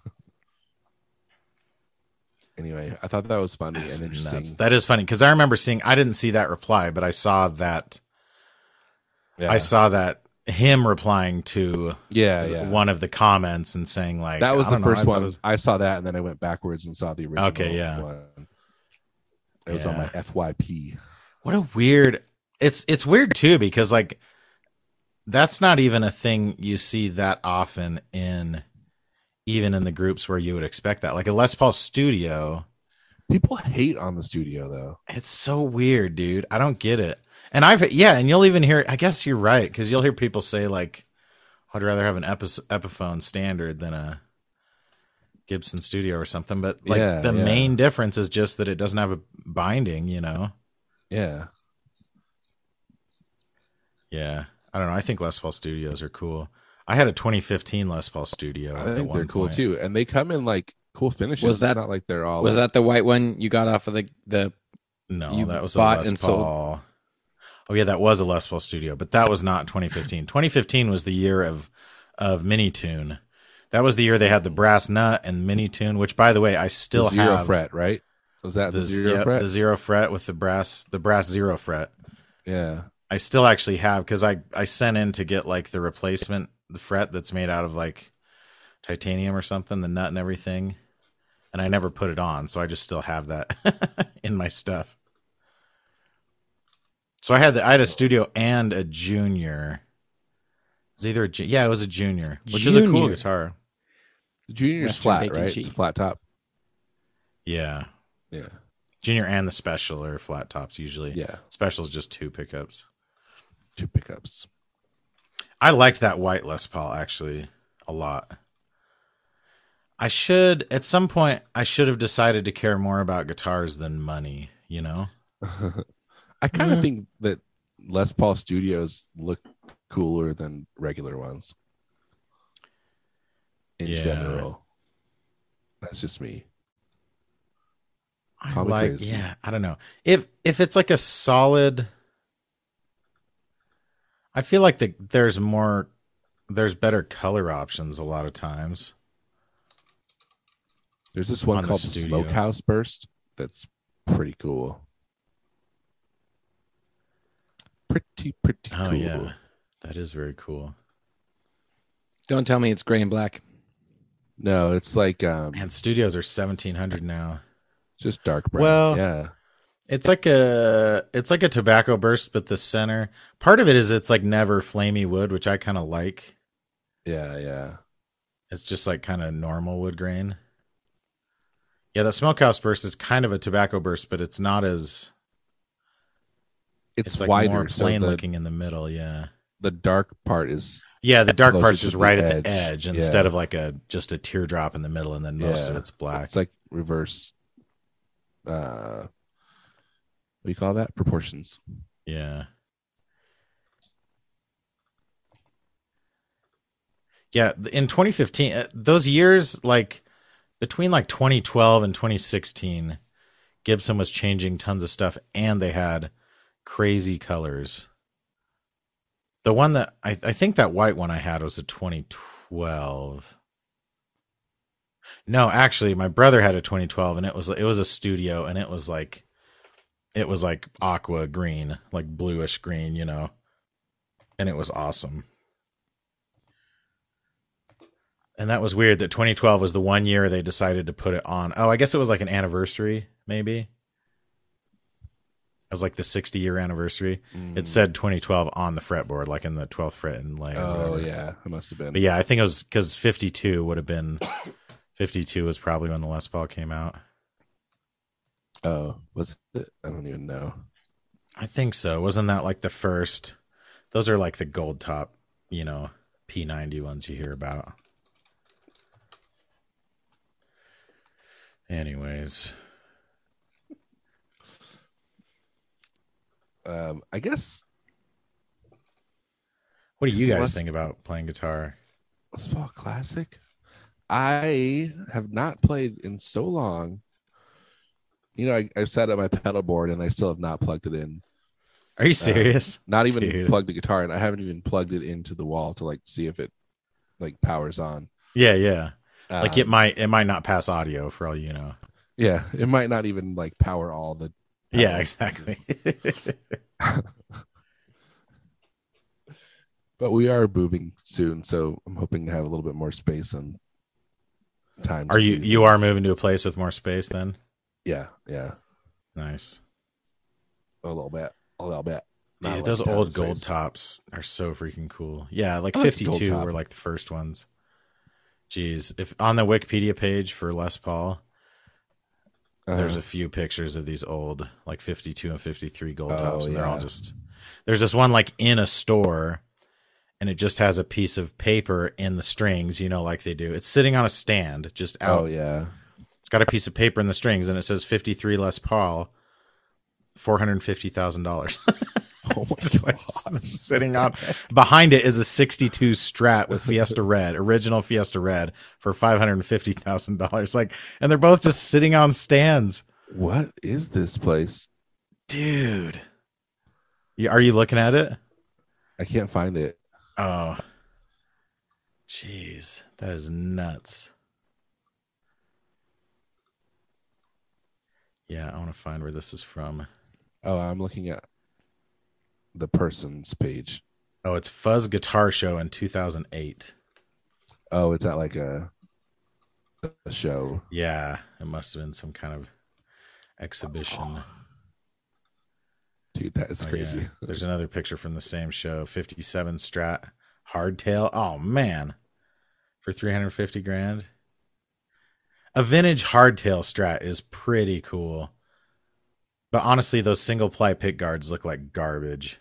Anyway, I thought that was funny That's and interesting. nuts. That is funny because I remember seeing. I didn't see that reply, but I saw that. Yeah. I saw that him replying to yeah, yeah. one of the comments and saying like that was I the don't know, I first thought one. it was- I saw that and then I went backwards and saw the original Okay, yeah. one. It was on my Yeah. F Y P. What a weird. It's it's weird too because like that's not even a thing you see that often in even in the groups where you would expect that. Like a Les Paul Studio. People hate on the studio though. It's so weird, dude. I don't get it. And I've yeah, and you'll even hear. I guess you're right because you'll hear people say like, "I'd rather have an Epi- Epiphone standard than a Gibson Studio or something." But like Yeah, the yeah. main difference is just that it doesn't have a binding. You know? Yeah. Yeah. I don't know. I think Les Paul Studios are cool. I had a twenty fifteen Les Paul Studio. I at think one they're cool point. too. And they come in like cool finishes. Was that- it's not like they're all was like, that the white one you got off of the the? No, You that was a bought Les and sold? Paul. Oh yeah, that was a Les Paul Studio, but that was not twenty fifteen. twenty fifteen was the year of of Mini Tune. That was the year they had the brass nut and Mini Tune, which by the way, I still the zero have fret, right? Was that the, the zero yeah, fret? the zero fret with the brass the brass zero fret. yeah. I still actually have because I I sent in to get like the replacement the fret that's made out of like titanium or something, the nut and everything, and I never put it on, so I just still have that in my stuff. So I had the, I had a studio and a junior. It was either a, ju- yeah, it was a junior, which is a cool Junior. guitar. The junior's Western flat, bacon right? cheese. It's a flat top. Yeah, Yeah. junior and the special are flat tops usually. Yeah. Special's just two pickups. Two pickups. I liked that white Les Paul actually a lot. I should at some point I should have decided to care more about guitars than money, you know? I kind of Mhm. think that Les Paul Studios look cooler than regular ones. In Yeah. general. That's just me. I Call me like crazy. yeah, I don't know. If if it's like a solid I feel like the, there's more, there's better color options a lot of times. There's this one On the called the studio. Smokehouse Burst that's pretty cool. Pretty, pretty Oh, cool. yeah. That is very cool. Don't tell me it's gray and black. No, it's like um, And studios are seventeen hundred now. just dark brown. Well, yeah. It's like a it's like a tobacco burst, but the center part of it is it's like never flamey wood, which I kind of like. Yeah, yeah. It's just like kind of normal wood grain. Yeah, the smokehouse burst is kind of a tobacco burst, but it's not as It's, it's like wider, more so plain the, looking in the middle. Yeah, the dark part is yeah. The dark closer part's to just the right at edge. the edge Yeah. instead of like a just a teardrop in the middle, and then most of Yeah. it's black. it's like reverse. Uh, what do you call that? Proportions. Yeah. Yeah, in twenty fifteen, uh, those years, like between like twenty twelve and twenty sixteen, Gibson was changing tons of stuff and they had crazy colors. The one that I, I think that white one I had was a twenty twelve. No, actually, my brother had a twenty twelve and it was it was a studio and it was like it was like aqua green, like bluish green, you know. And it was awesome. And that was weird that twenty twelve was the one year they decided to put it on. Oh, I guess it was like an anniversary, maybe. It was like the sixty year anniversary. Mm. It said twenty twelve on the fretboard, like in the twelfth fret inlay. or Oh whatever. yeah, it must have been. But yeah, I think it was because fifty-two would have been. fifty-two was probably when the Les Paul came out. Oh, was it? I don't even know. I think so. Wasn't that like the first? Those are like the gold top, you know, P ninety ones you hear about. Anyways, Um, I guess what do you Is guys Les- think about playing guitar? Les Paul Classic. I have not played in so long. You know, I, I've set up my pedal board and I still have not plugged it in. Are you serious? Not even Dude. plugged the guitar in. I haven't even plugged it into the wall to like see if it like powers on. Yeah, yeah. Like it Um, might, it might not pass audio for all you know. Yeah, it might not even like power all the. Yeah, pedals. exactly. But we are moving soon, so I'm hoping to have a little bit more space and time. Are to you do you are things. moving to a place with more space then? Yeah, yeah, Nice. a little bit, a little bit. Not Dude, like those a ton old of gold space. tops are so freaking cool. Yeah, like I like the gold fifty-two top. were like the first ones. Jeez, if on the Wikipedia page for Les Paul, Uh, there's a few pictures of these old like fifty-two and fifty-three gold Oh, tops, and they're all yeah. just. There's this one like in a store, and it just has a piece of paper in the strings, you know, like they do. It's sitting on a stand, just out. oh yeah, It's got a piece of paper in the strings, and it says fifty-three Les Paul, four hundred fifty thousand dollars. oh It's my like god, sitting on behind it is a sixty-two Strat with Fiesta Red, original Fiesta Red, for five hundred fifty thousand dollars. Like, and they're both just sitting on stands, what is this place? dude. You, are you looking at it? I can't find it. Oh, jeez, that is nuts. Yeah, I want to find where this is from. Oh, I'm looking at the person's page. Oh, it's Fuzz Guitar Show in two thousand eight. Oh, it's at like a a show. Yeah, it must have been some kind of exhibition. Dude, that is Oh, crazy. yeah. There's another picture from the same show, fifty-seven Strat Hardtail. Oh man, for three hundred fifty grand. A vintage hardtail Strat is pretty cool, but honestly, those single ply pick guards look like garbage.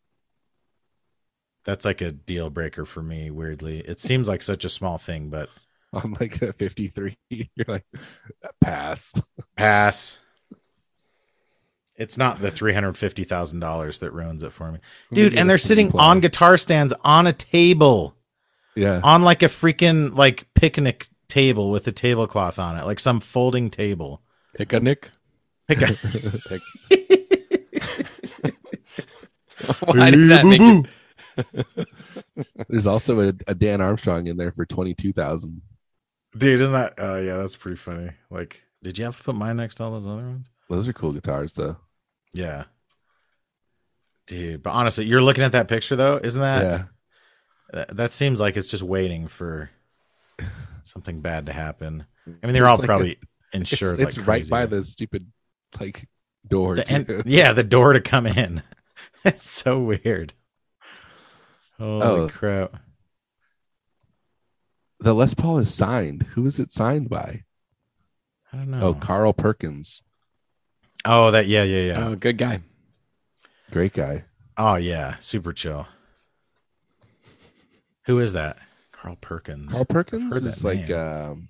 That's like a deal breaker for me. Weirdly, it seems like such a small thing, but I'm like at fifty-three. You're like, pass. pass. It's not the three hundred fifty thousand dollars that ruins it for me, dude. Maybe And they're the sitting single ply. on guitar stands on a table. Yeah. On like a freaking like picnic table with a tablecloth on it, like some folding table. Pick a nick. Pick a- Why did that make it? There's also a, a Dan Armstrong in there for twenty two thousand. Dude, isn't that? Oh, uh, yeah, that's pretty funny. Like, did you have to put mine next to all those other ones? Those are cool guitars, though. Yeah. Dude, but honestly, you're looking at that picture, though, isn't that? Yeah. That, that seems like it's just waiting for something bad to happen. I mean, they're It's all like probably a, insured. It's, it's like right crazy. by the stupid, like, door. The too. en- yeah, the door to come in. It's so weird. Holy Oh. crap. The Les Paul is signed. Who is it signed by? I don't know. Oh, Carl Perkins. Oh, that, yeah, yeah, yeah. Oh, good guy. Great guy. Oh, yeah. Super chill. Who is that? Carl Perkins. Carl Perkins heard is that like, name. um,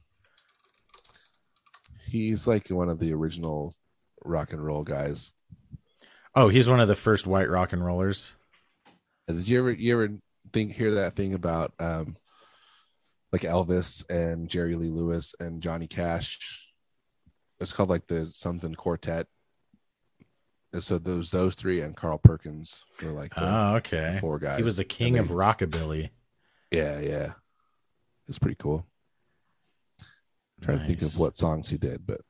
he's like one of the original rock and roll guys. Oh, he's one of the first white rock and rollers. Did you ever, you ever think, hear that thing about, um, like Elvis and Jerry Lee Lewis and Johnny Cash? It's called like the something quartet. And so those those three and Carl Perkins were like the Oh, okay. four guys. He was the king And of they- rockabilly. Yeah, yeah. It's pretty cool. I'm trying to think Nice. of what songs he did, but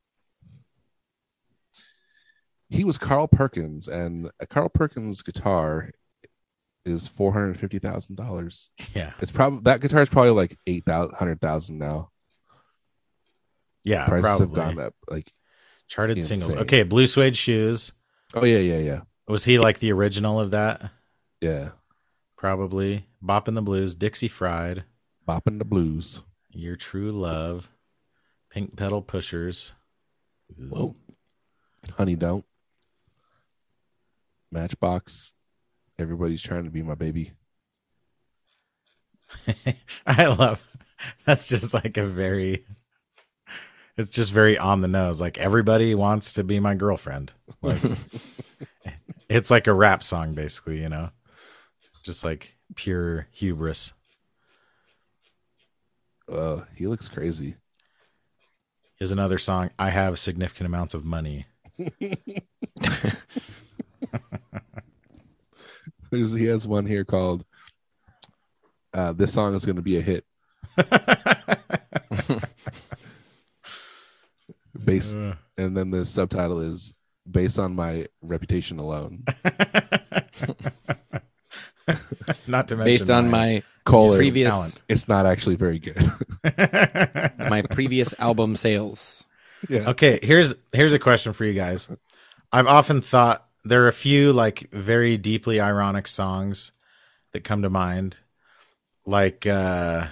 he was Carl Perkins, and a Carl Perkins guitar is four hundred fifty thousand dollars. Yeah. It's probably that guitar is probably like eight hundred thousand now. Yeah, Prices probably. have gone up. Like, Charted insane. singles. Okay, Blue Suede Shoes. oh yeah, yeah, yeah, Was he like the original of that? yeah. Probably. Bop in the Blues, Dixie Fried, Bopping the blues. Your True Love, Pink Pedal Pushers. Whoa. Honey Don't. Matchbox. Everybody's trying to be my baby. I love that's just like a very it's just very on the nose. Like everybody wants to be my girlfriend. Like it's like a rap song basically, you know. Just like pure hubris. Uh, he looks crazy. Here's another song. I have significant amounts of money. There's, he has one here called uh, "This Song Is Going to Be a Hit." Based, Uh. and then the subtitle is "Based on My Reputation Alone." Not to mention Based on my my Colon, previous talent. it's not actually very good. my previous album sales. Yeah. Okay, here's here's a question for you guys. I've often thought there are a few like very deeply ironic songs that come to mind, like uh,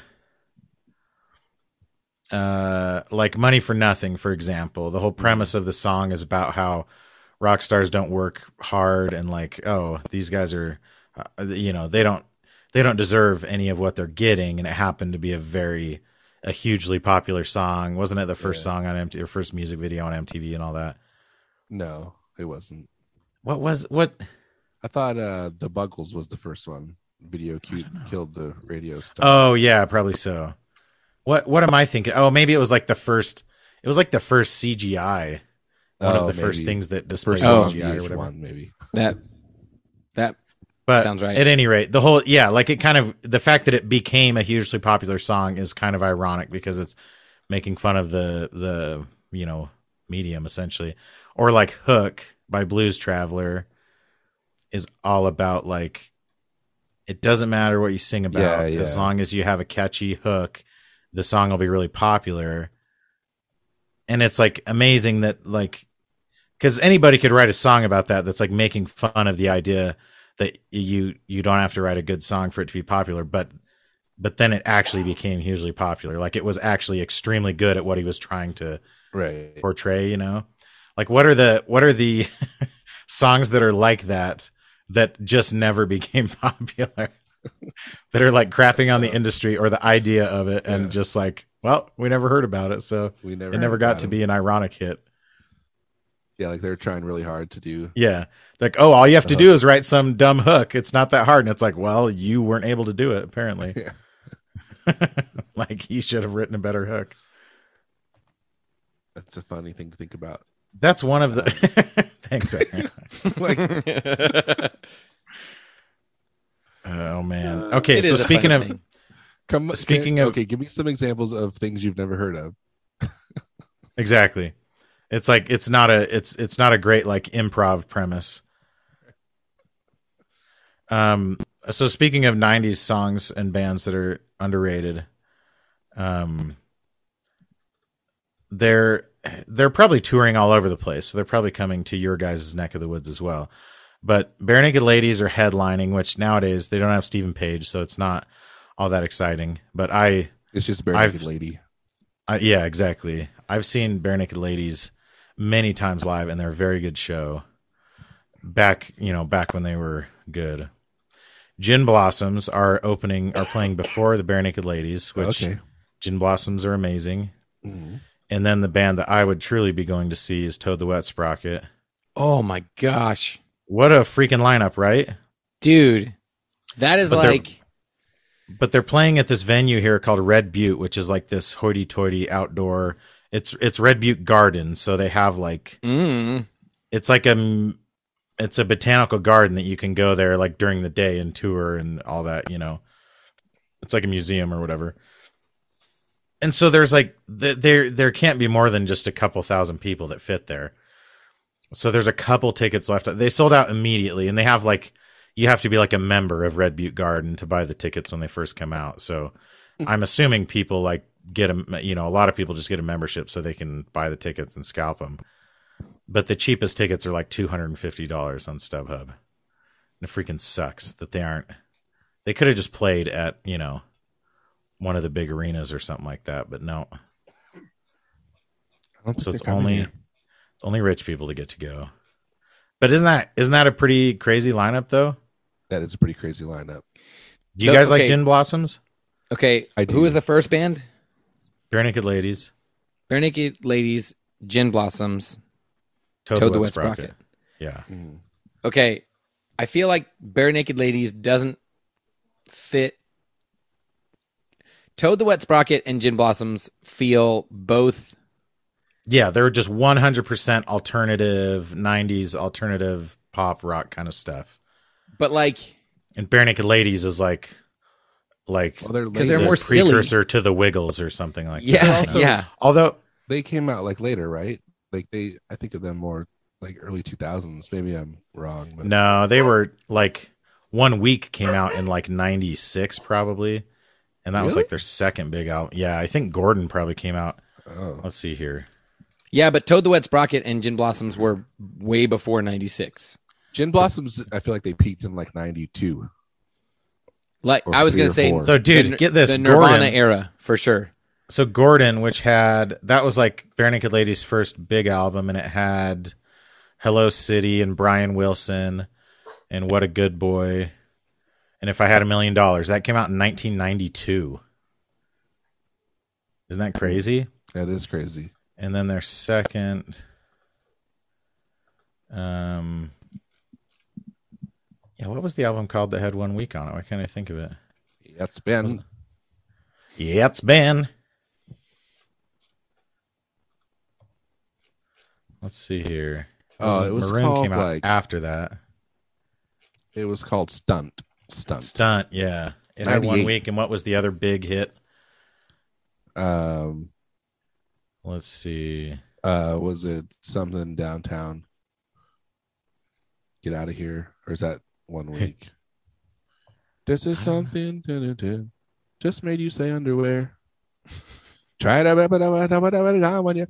uh, like "Money for Nothing," for example. The whole premise of the song is about how rock stars don't work hard and like, oh, these guys are, uh, you know, they don't they don't deserve any of what they're getting, and it happened to be a very a hugely popular song. Wasn't it the first Yeah. song on M T V, or first music video on M T V and all that? No, it wasn't. What was what? I thought uh, the Buggles was the first one. Video cute killed the radio star. Oh yeah, probably so. What what am I thinking? Oh, maybe it was like the first. It was like the first C G I. One Oh, of the first maybe. things that displayed First Oh. song C G I or V H whatever. one, maybe. That that But Sounds right. At any rate, the whole yeah, like it kind of the fact that it became a hugely popular song is kind of ironic because it's making fun of the the you know medium essentially, or like "Hook" by Blues Traveler is all about like it doesn't matter what you sing about Yeah, yeah. as long as you have a catchy hook, the song will be really popular. And it's like amazing that like because anybody could write a song about that that's like making fun of the idea that you you don't have to write a good song for it to be popular, but but then it actually became hugely popular. Like it was actually extremely good at what he was trying to Right. portray, you know? Like what are the what are the songs that are like that that just never became popular? That are like crapping on the industry or the idea of it and Yeah. just like, well, we never heard about it, so We never it never heard got about to him. be an ironic hit. Yeah, like they're trying really hard to do. Yeah. Like, oh, all you have to Uh-huh. do is write some dumb hook. It's not that hard. And it's like, well, you weren't able to do it, apparently. Yeah. Like, you should have written a better hook. That's a funny thing to think about. That's one of the. Thanks, Aaron. Like, Oh man. Okay, It so is a speaking fun of thing. Come Speaking can- of- okay, give me some examples of things you've never heard of. exactly, it's like it's not a it's it's not a great like improv premise. Um. So speaking of nineties songs and bands that are underrated, um, they're they're probably touring all over the place. So they're probably coming to your guys' neck of the woods as well. But Bare Naked Ladies are headlining, which nowadays they don't have Stephen Page, so it's not all that exciting. But I, It's just Bare I've- Naked Lady. I yeah, exactly. I've seen Bare Naked Ladies many times live, and they're a very good show. Back, you know, back when they were good. Gin Blossoms are opening, are playing before the Bare Naked Ladies, which Okay. Gin Blossoms are amazing. Mhm. And then the band that I would truly be going to see is Toad the Wet Sprocket. Oh my gosh, What a freaking lineup, right? dude, that is But they're- like But they're playing at this venue here called Red Butte, which is like this hoity-toity outdoor. It's it's Red Butte Garden, so they have like mm, it's like a it's a botanical garden that you can go there like during the day and tour and all that. You know, it's like a museum or whatever. And so there's like th- there there can't be more than just a couple thousand people that fit there. So there's a couple tickets left. They sold out immediately, and they have like you have to be like a member of Red Butte Garden to buy the tickets when they first come out. So I'm assuming people like get a you know a lot of people just get a membership so they can buy the tickets and scalp them. But the cheapest tickets are like two hundred fifty dollars on StubHub. And it freaking sucks that they aren't. They could have just played at you know one of the big arenas or something like that, but no. I don't So think it's they're coming only here. it's only rich people to get to go. But isn't that isn't that a pretty crazy lineup though? That is a pretty crazy lineup. Do you So- guys like okay. Gin Blossoms? okay. I do. Who was the first band? Bare Naked Ladies, Bare Naked Ladies, Gin Blossoms, Toad, Toad the the Wet Wet Sprocket. Sprocket. Yeah. Mhm. Okay, I feel like Bare Naked Ladies doesn't fit. Toad the Wet Sprocket and Gin Blossoms feel both. Yeah, they're just one hundred percent alternative nineties alternative pop rock kind of stuff. But like, And Bare Naked Ladies is like like Well, they're 'Cause later. they're the more silly. precursor to the Wiggles or something like yeah, that. you know? yeah. Although They came out like later, right? Like they, I think of them more like early two thousands. Maybe I'm wrong. But no, they were like One Week came out in like ninety-six probably. And that was Really? like their second big album. Yeah, I think Gordon probably came out. Oh, Let's see here. Yeah, but Toad the Wet Sprocket and Gin Blossoms were way before ninety-six. Gin Blossoms. I feel like they peaked in like ninety-two. Like Or I was three going or to say, four. So dude, the, get this. the Nirvana Gordon, era for sure. So Gordon, which had that was like Bare Naked Ladies' first big album, and it had Hello City and Brian Wilson and What a Good Boy and If I Had a Million Dollars. That came out in nineteen ninety-two. Isn't that crazy? That is crazy. And then their second, um, yeah, what was the album called that had One Week on it? Why can't I think of it? That's been. Yeah, it's Ben. Let's see here. Oh, it was Maroon called came out like after that. it was called Stunt. Stunt. Stunt, yeah. It had one ninety-eight. week, and what was the other big hit? Um. Let's see. Uh. Was it something downtown? Get out of here, or is that one week? This is something. dun, dun, dun, just made you say underwear. Try to try to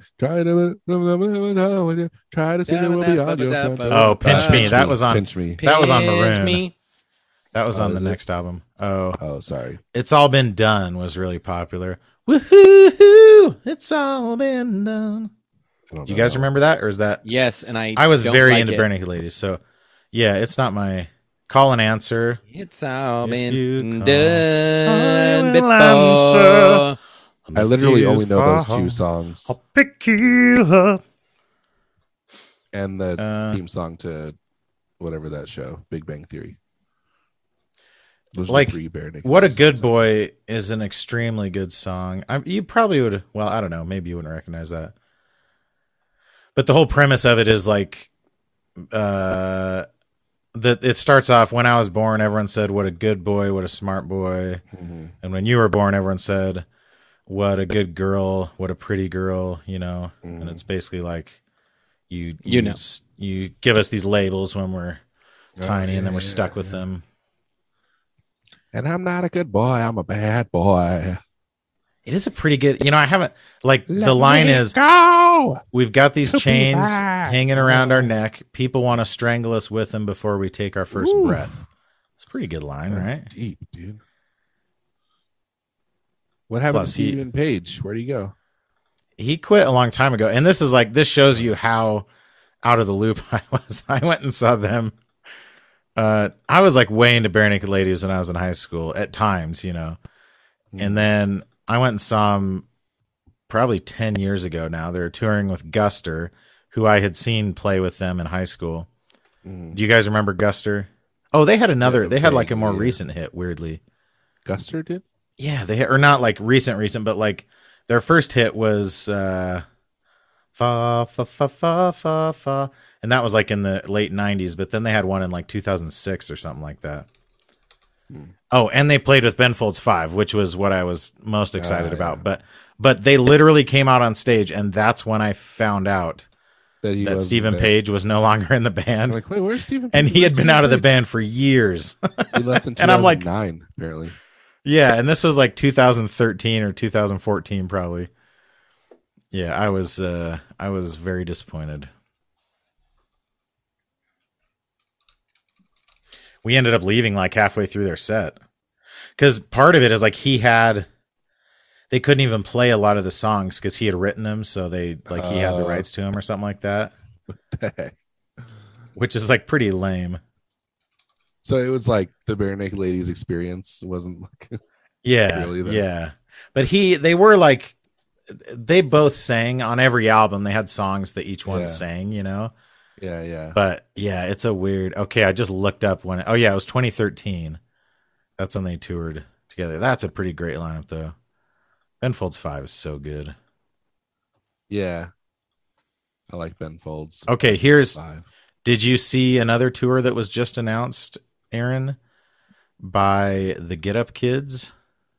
try to sing it will be on your front door. Oh, Pinch Uh, Me. That was on- Pinch Me. That was on Pinch Maroon. Me. That was Oh, on the is it? next album. Oh, Oh, sorry. It's All Been Done was really popular. Woohoo! It's all been done. I don't Do you know. guys remember that, or is that? Yes, and I I was don't very like into it. Bare Naked Ladies, so yeah, it's not my call and answer. It's all If been you call, done I will before. answer. I literally If only you know those fall, two songs I'll pick you up. and the Uh, theme song to whatever that show, Big Bang Theory. Those are the Like, three Bare Naked What a Ladies Good songs. Boy is an extremely good song. I, you probably would, well, I don't know, maybe you wouldn't recognize that. But the whole premise of it is like, uh, that it starts off, when I was born, everyone said, what a good boy, what a smart boy. Mhm. And when you were born, everyone said, what a good girl, what a pretty girl, you know. Mhm. And it's basically like you you, You know. s- you give us these labels when we're tiny, yeah, and then we're yeah, stuck with yeah. them. And I'm not a good boy. I'm a bad boy. It is a pretty good, you know, I haven't, like, Let the line me is, go. we've got these To be chains back. hanging around our neck. People want to strangle us with them before we take our first Ooh. breath. It's a pretty good line, That's right? deep, dude. What happened Plus, to he- Stephen Page? Where'd he go? He quit a long time ago. And this is like, this shows you how out of the loop I was. I went and saw them. Uh, I was like way into Bare Naked Ladies when I was in high school at times, you know. And then I went and saw them probably ten years ago now. They're touring with Guster, who I had seen play with them in high school. Mm. Do you guys remember Guster? Oh, they had another, Yeah, they had like a more vaguely, yeah. recent hit, weirdly. Guster did? Yeah, they had, or not like recent, recent, but like their first hit was uh, fa fa fa fa fa fa, and that was like in the late nineties. But then they had one in like two thousand six or something like that. Hmm. Oh, and they played with Ben Folds Five, which was what I was most excited Ah, about. yeah. But but they literally came out on stage, and that's when I found out That, he that wasn't Stephen there. Page was no longer in the I'm band, like, wait, where's Stephen? and Page? he had Where's been Stephen out of the Page? band for years. He left in And I'm like- two thousand nine, apparently. Yeah, and this was like two thousand thirteen or two thousand fourteen, probably. Yeah, I was uh, I was very disappointed. We ended up leaving like halfway through their set because part of it is like he had, they couldn't even play a lot of the songs because he had written them, so they like he had the Oh. rights to them or something like that, which is like pretty lame. So it was like the Bare Naked Ladies experience. It wasn't like Yeah, Really, though? yeah. But he, they were like, they both sang on every album. They had songs that each one Yeah. sang, you know. yeah, yeah. But yeah, it's a weird. Okay, I just looked up when. Oh yeah, it was twenty thirteen. That's when they toured together. That's a pretty great lineup, though. Ben Folds Five is so good. Yeah. I like Ben Folds. Okay, here's. Five. Did you see another tour that was just announced, Aaron, by the Get Up Kids?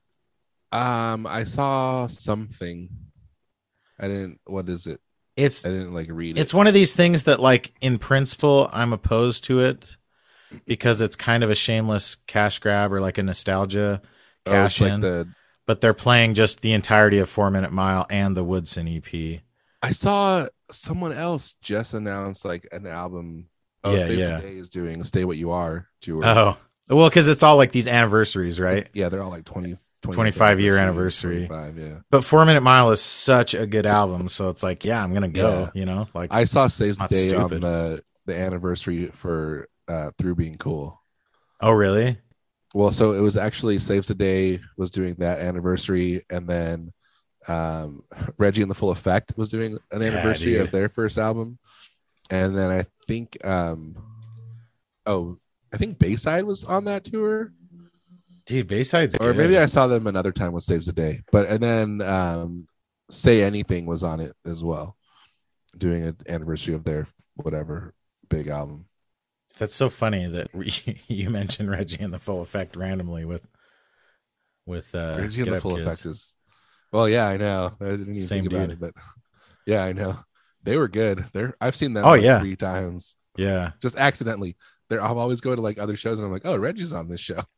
Um, I saw something. I didn't. What is it? It's I didn't like read It's it. one of these things that, like, in principle, I'm opposed to it because it's kind of a shameless cash grab or like a nostalgia Oh, cash it's in. like the. But they're playing just the entirety of Four Minute Mile and the Woodson E P. I saw someone else just announced like an album. Oh, Yeah, Saves yeah. the Day is doing "Stay What You Are" tour. Oh, well, because it's all like these anniversaries, right? Yeah, they're all like twenty, twenty twenty-five year anniversary. twenty-five, yeah. But Four Minute Mile is such a good album, so it's like, yeah, I'm gonna go. Yeah. You know, like I saw "Saves the Not Day" stupid. on the the anniversary for uh Through Being Cool. oh, really? Well, so it was actually Saves the Day was doing that anniversary, and then um, Reggie and the Full Effect was doing an Yeah, anniversary dude. of their first album, and then I think, um, oh, I think Bayside was on that tour, Dude, Bayside's or good. maybe I saw them another time with Saves the Day, but and then um, Say Anything was on it as well, doing an anniversary of their whatever big album. That's so funny that you mentioned Reggie and the Full Effect randomly with with uh, Reggie and Get the Up Full Kids. Effect is, well, yeah, I know. I didn't even Same think about dude. it, but yeah, I know. They were good. They're I've seen them Oh, like yeah. three times, Yeah, just accidentally. They're I'm always going to like other shows, and I'm like, oh, Reggie's on this show.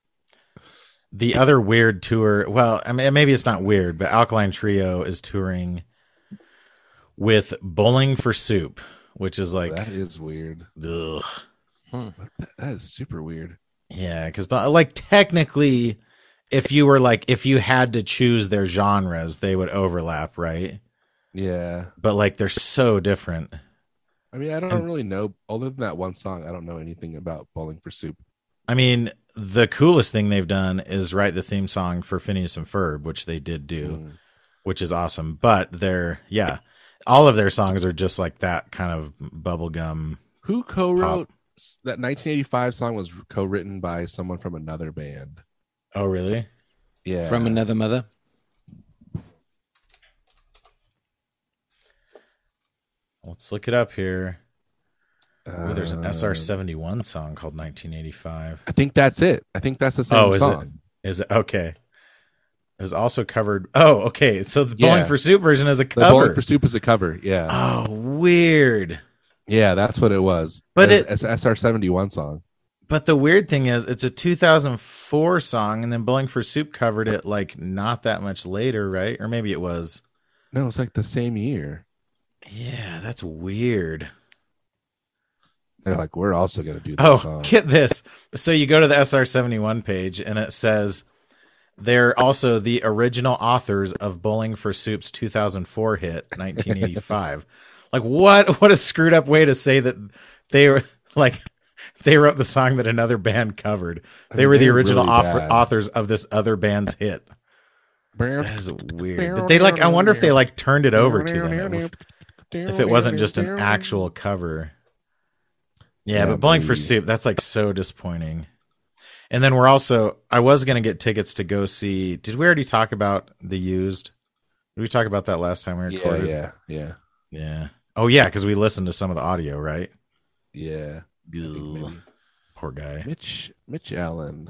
the other weird tour. Well, I mean, maybe it's not weird, but Alkaline Trio is touring with Bowling for Soup, which is like, That is weird. ugh. That is super weird. Yeah, because like technically, if you were like if you had to choose their genres, they would overlap, right? Yeah, But like they're so different. I mean, I don't And- really know. Other than that one song, I don't know anything about Bowling for Soup. I mean, the coolest thing they've done is write the theme song for Phineas and Ferb, which they did do, Mm. which is awesome. But they're yeah, all of their songs are just like that kind of bubblegum. Who co-wrote that nineteen eighty-five song? Was co-written by someone from another band. Oh, really? Yeah, From Another Mother. Let's look it up here. Uh, We'll there's an S R seventy-one song called nineteen eighty-five. I think that's it. I think that's the same Oh, is song. it? Is it okay? It was also covered. Oh, okay. So the Yeah. Bowling for Soup version is a The cover. Bowling for Soup is a cover. Yeah. Oh, weird. Yeah, that's what it was. But It's- it- it's an S R seventy-one song. But the weird thing is, it's a two thousand four song, and then Bowling for Soup covered it like not that much later, right? Or maybe it was. No, it's like the same year. Yeah, that's weird. They're like, we're also going to do this Oh, song. get this. So you go to the S R seventy-one page, and it says they're also the original authors of Bowling for Soup's two thousand four hit, nineteen eighty-five. Like, what? What a screwed up way to say that they were like they wrote the song that another band covered. They mean, were the they're original really author, bad. authors of this other band's hit. That is weird. Did they like? I wonder if they like turned it over to them. If, if it wasn't just an actual cover. Yeah, Yeah, but Bowling for maybe. Soup, that's like so disappointing. And then we're also, I was going to get tickets to go see. Did we already talk about The Used? Did we talk about that last time we Yeah, recorded? yeah, yeah, Yeah. Oh, yeah, because we listened to some of the audio, right? yeah. I think Ugh. maybe. Poor guy. Mitch, Mitch Allen.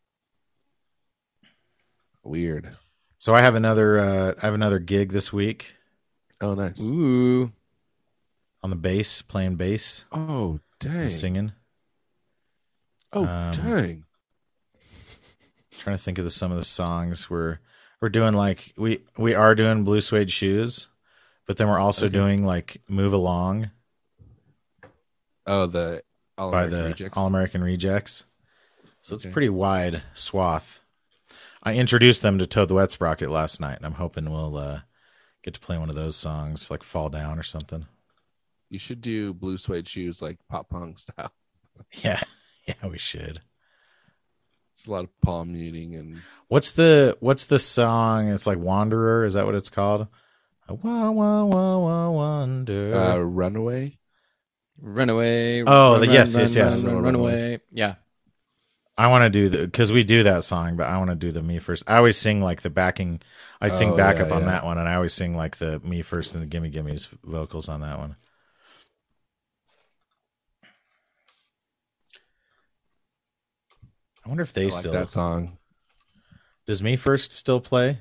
Weird. So I have another, uh, I have another gig this week Oh, nice. Ooh. on the bass, playing bass, Oh, dang. and singing. Oh, Um, dang. Trying to think of the, some of the songs we're we're doing. Like we we are doing Blue Suede Shoes, but then we're also Okay. doing like Move Along Oh, the All by American the Rejects. All American Rejects. So it's a Okay. pretty wide swath. I introduced them to Toad the Wet Sprocket last night, and I'm hoping we'll uh, get to play one of those songs, like Fall Down or something. You should do Blue Suede Shoes like pop punk style. Yeah, yeah, we should. It's a lot of palm muting and What's the What's the song? It's like Wanderer. Is that what it's called? Wah wah wah wah wonder. uh, Runaway. Runaway. Oh, run, the- run, yes, run, yes, yes. Run, run, Run run away. away. Yeah. I want to do the because we do that song, but I want to do the Me First. I always sing like the backing. I sing Oh, backup yeah, on yeah. that one, and I always sing like the Me First and the Gimme Gimme's vocals on that one. I wonder if they I like still that song. does Me First still play?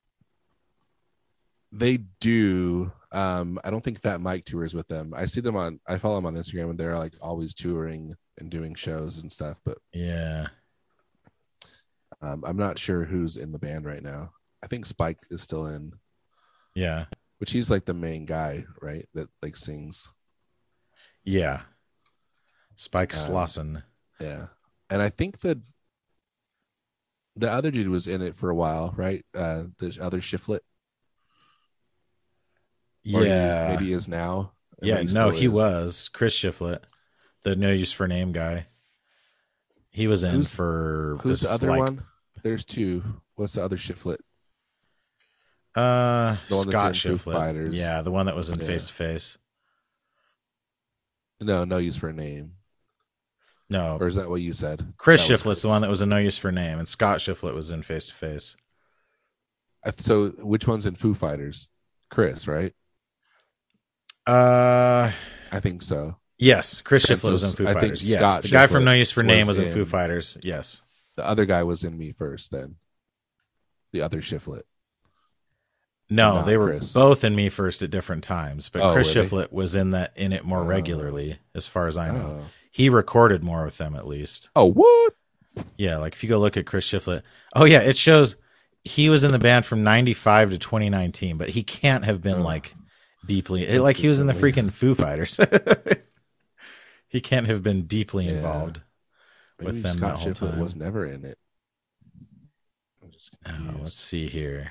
They do. Um, I don't think Fat Mike tours with them. I see them on. I follow them on Instagram, and they're like always touring and doing shows and stuff. But Yeah, um, I'm not sure who's in the band right now. I think Spike is still in, yeah, which he's like the main guy, right? That like sings. yeah. Spike Um, Slauson. Yeah, and I think that the other dude was in it for a while, right? Uh, the other Shiflet. Or he is- Yeah, maybe he is now. and yeah. maybe No, still he is. was Chris Shiflett, the No Use for Name guy. He was in Who's- for Who's this, the other like, one? There's two. What's the other Shiflet? Uh, The one that's Scott in Foo Shiflett. Fighters. Yeah, the one that was in Yeah. Face to Face. No, no use for a name. No, Or is that what you said? Chris That was Shiflett's the one that was in No Use for Name, and Scott Shiflett was in Face to Face. I- So which one's in Foo Fighters? Chris, right? Uh, I think so. yes, Chris And Shiflett so was in Foo I think Fighters. Yes, Scott the guy from Shiflett No Use for Name was was in Foo in- Fighters. Yes. The other guy was in Me First, then. The other Shiflet. No, Not they were Chris. both in Me First at different times, but Oh, Chris were they? Shiflett was in that in it more Oh. regularly, as far as I know. Oh. He recorded more with them, at least. Oh, what? Yeah, like if you go look at Chris Shiflett, oh yeah, it shows he was in the band from ninety-five to twenty nineteen, but he can't have been Oh. like deeply it, like he was in the freaking Foo Fighters. He can't have been deeply Yeah. involved Maybe with them Scott that whole Shiflett time. was never in it. I'm just Oh, confused. let's see here.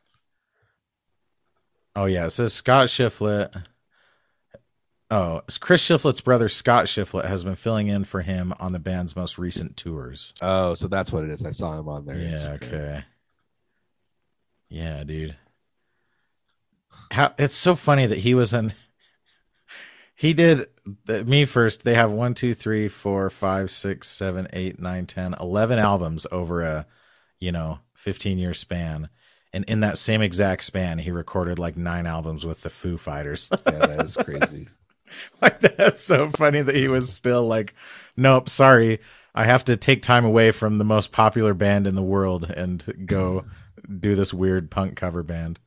Oh yeah, it says Scott Shiflett. Oh, Chris Shiflett's brother Scott Shiflett has been filling in for him on the band's most recent tours. Oh, so that's what it is. I saw him on there. Yeah, Instagram. okay. Yeah, dude. How it's so funny that he was in he did the, Me First. They have one, two, three, four, five, six, seven, eight, nine, ten, eleven albums over a, you know, fifteen year span. And in that same exact span, he recorded like nine albums with the Foo Fighters. Yeah, that is crazy. Like, that's so funny that he was still like, nope, sorry. I have to take time away from the most popular band in the world and go do this weird punk cover band.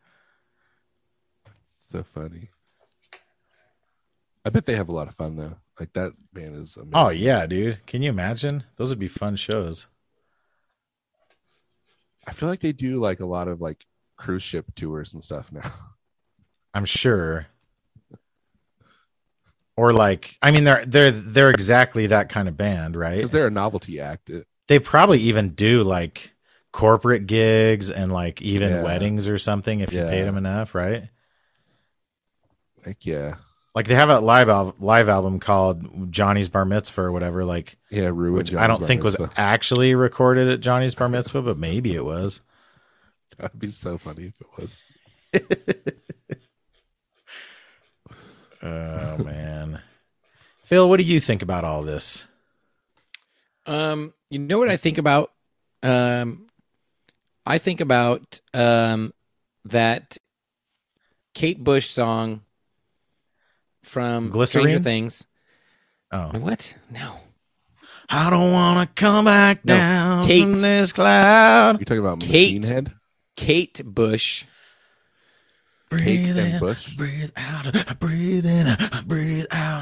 So funny. I bet they have a lot of fun though. Like that band is amazing. Oh yeah, dude. Can you imagine? Those would be fun shows. I feel like they do like a lot of like cruise ship tours and stuff now. I'm sure. Or like, I mean, they're they're they're exactly that kind of band, right? Because they're a novelty act. It, They probably even do like corporate gigs and like even Yeah. weddings or something if you Yeah. paid them enough, right? Heck yeah. Like they have a live al- live album called Johnny's Bar Mitzvah or whatever, like Yeah, ruined. which I don't think was actually recorded at Johnny's Bar Mitzvah, but maybe it was. That'd be so funny if it was. Oh man, Phil, what do you think about all this? Um, you know what I think about? Um, I think about um that Kate Bush song from Glycerine? Stranger Things. Oh, What? No. I don't want to come back No, down Kate. from this cloud. You're talking about Kate. Machine Head? Kate Bush. Kate Breathe and in, Bush? breathe out, breathe in, breathe out.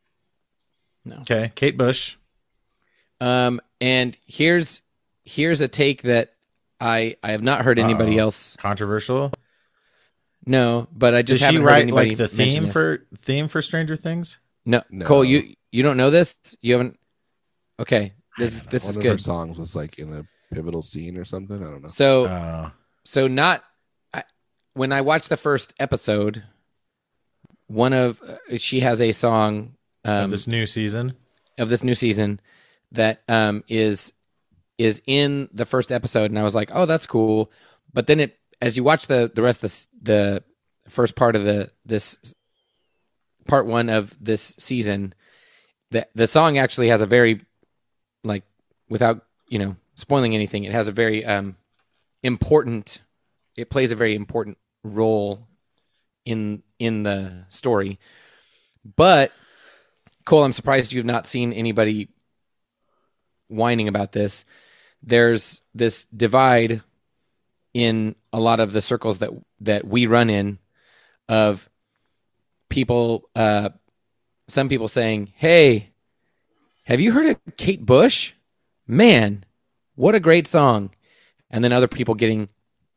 No. Okay, Kate Bush. Um, and here's here's a take that I I have not heard anybody Uh-oh. else. Controversial. No, but I just Did she haven't heard write anybody like the mention theme this. for theme for Stranger Things? No, No. Cole, you you don't know this? You haven't? Okay, this this One is of her good. songs was like in a pivotal scene or something. I don't know. So Oh, so not I, when I watched the first episode, one of uh, she has a song um, this new season. of this new season that um, is is in the first episode, and I was like, oh, that's cool. But then it, as you watch the the rest of the the first part of the this part one of this season, the the song actually has a very, like, without you know spoiling anything, it has a very um important. It plays a very important role in in the story. But Cole, I'm surprised you've not seen anybody whining about this. There's this divide in a lot of the circles that that we run in of people, uh, some people saying, hey, have you heard of Kate Bush? Man, what a great song. And then other people getting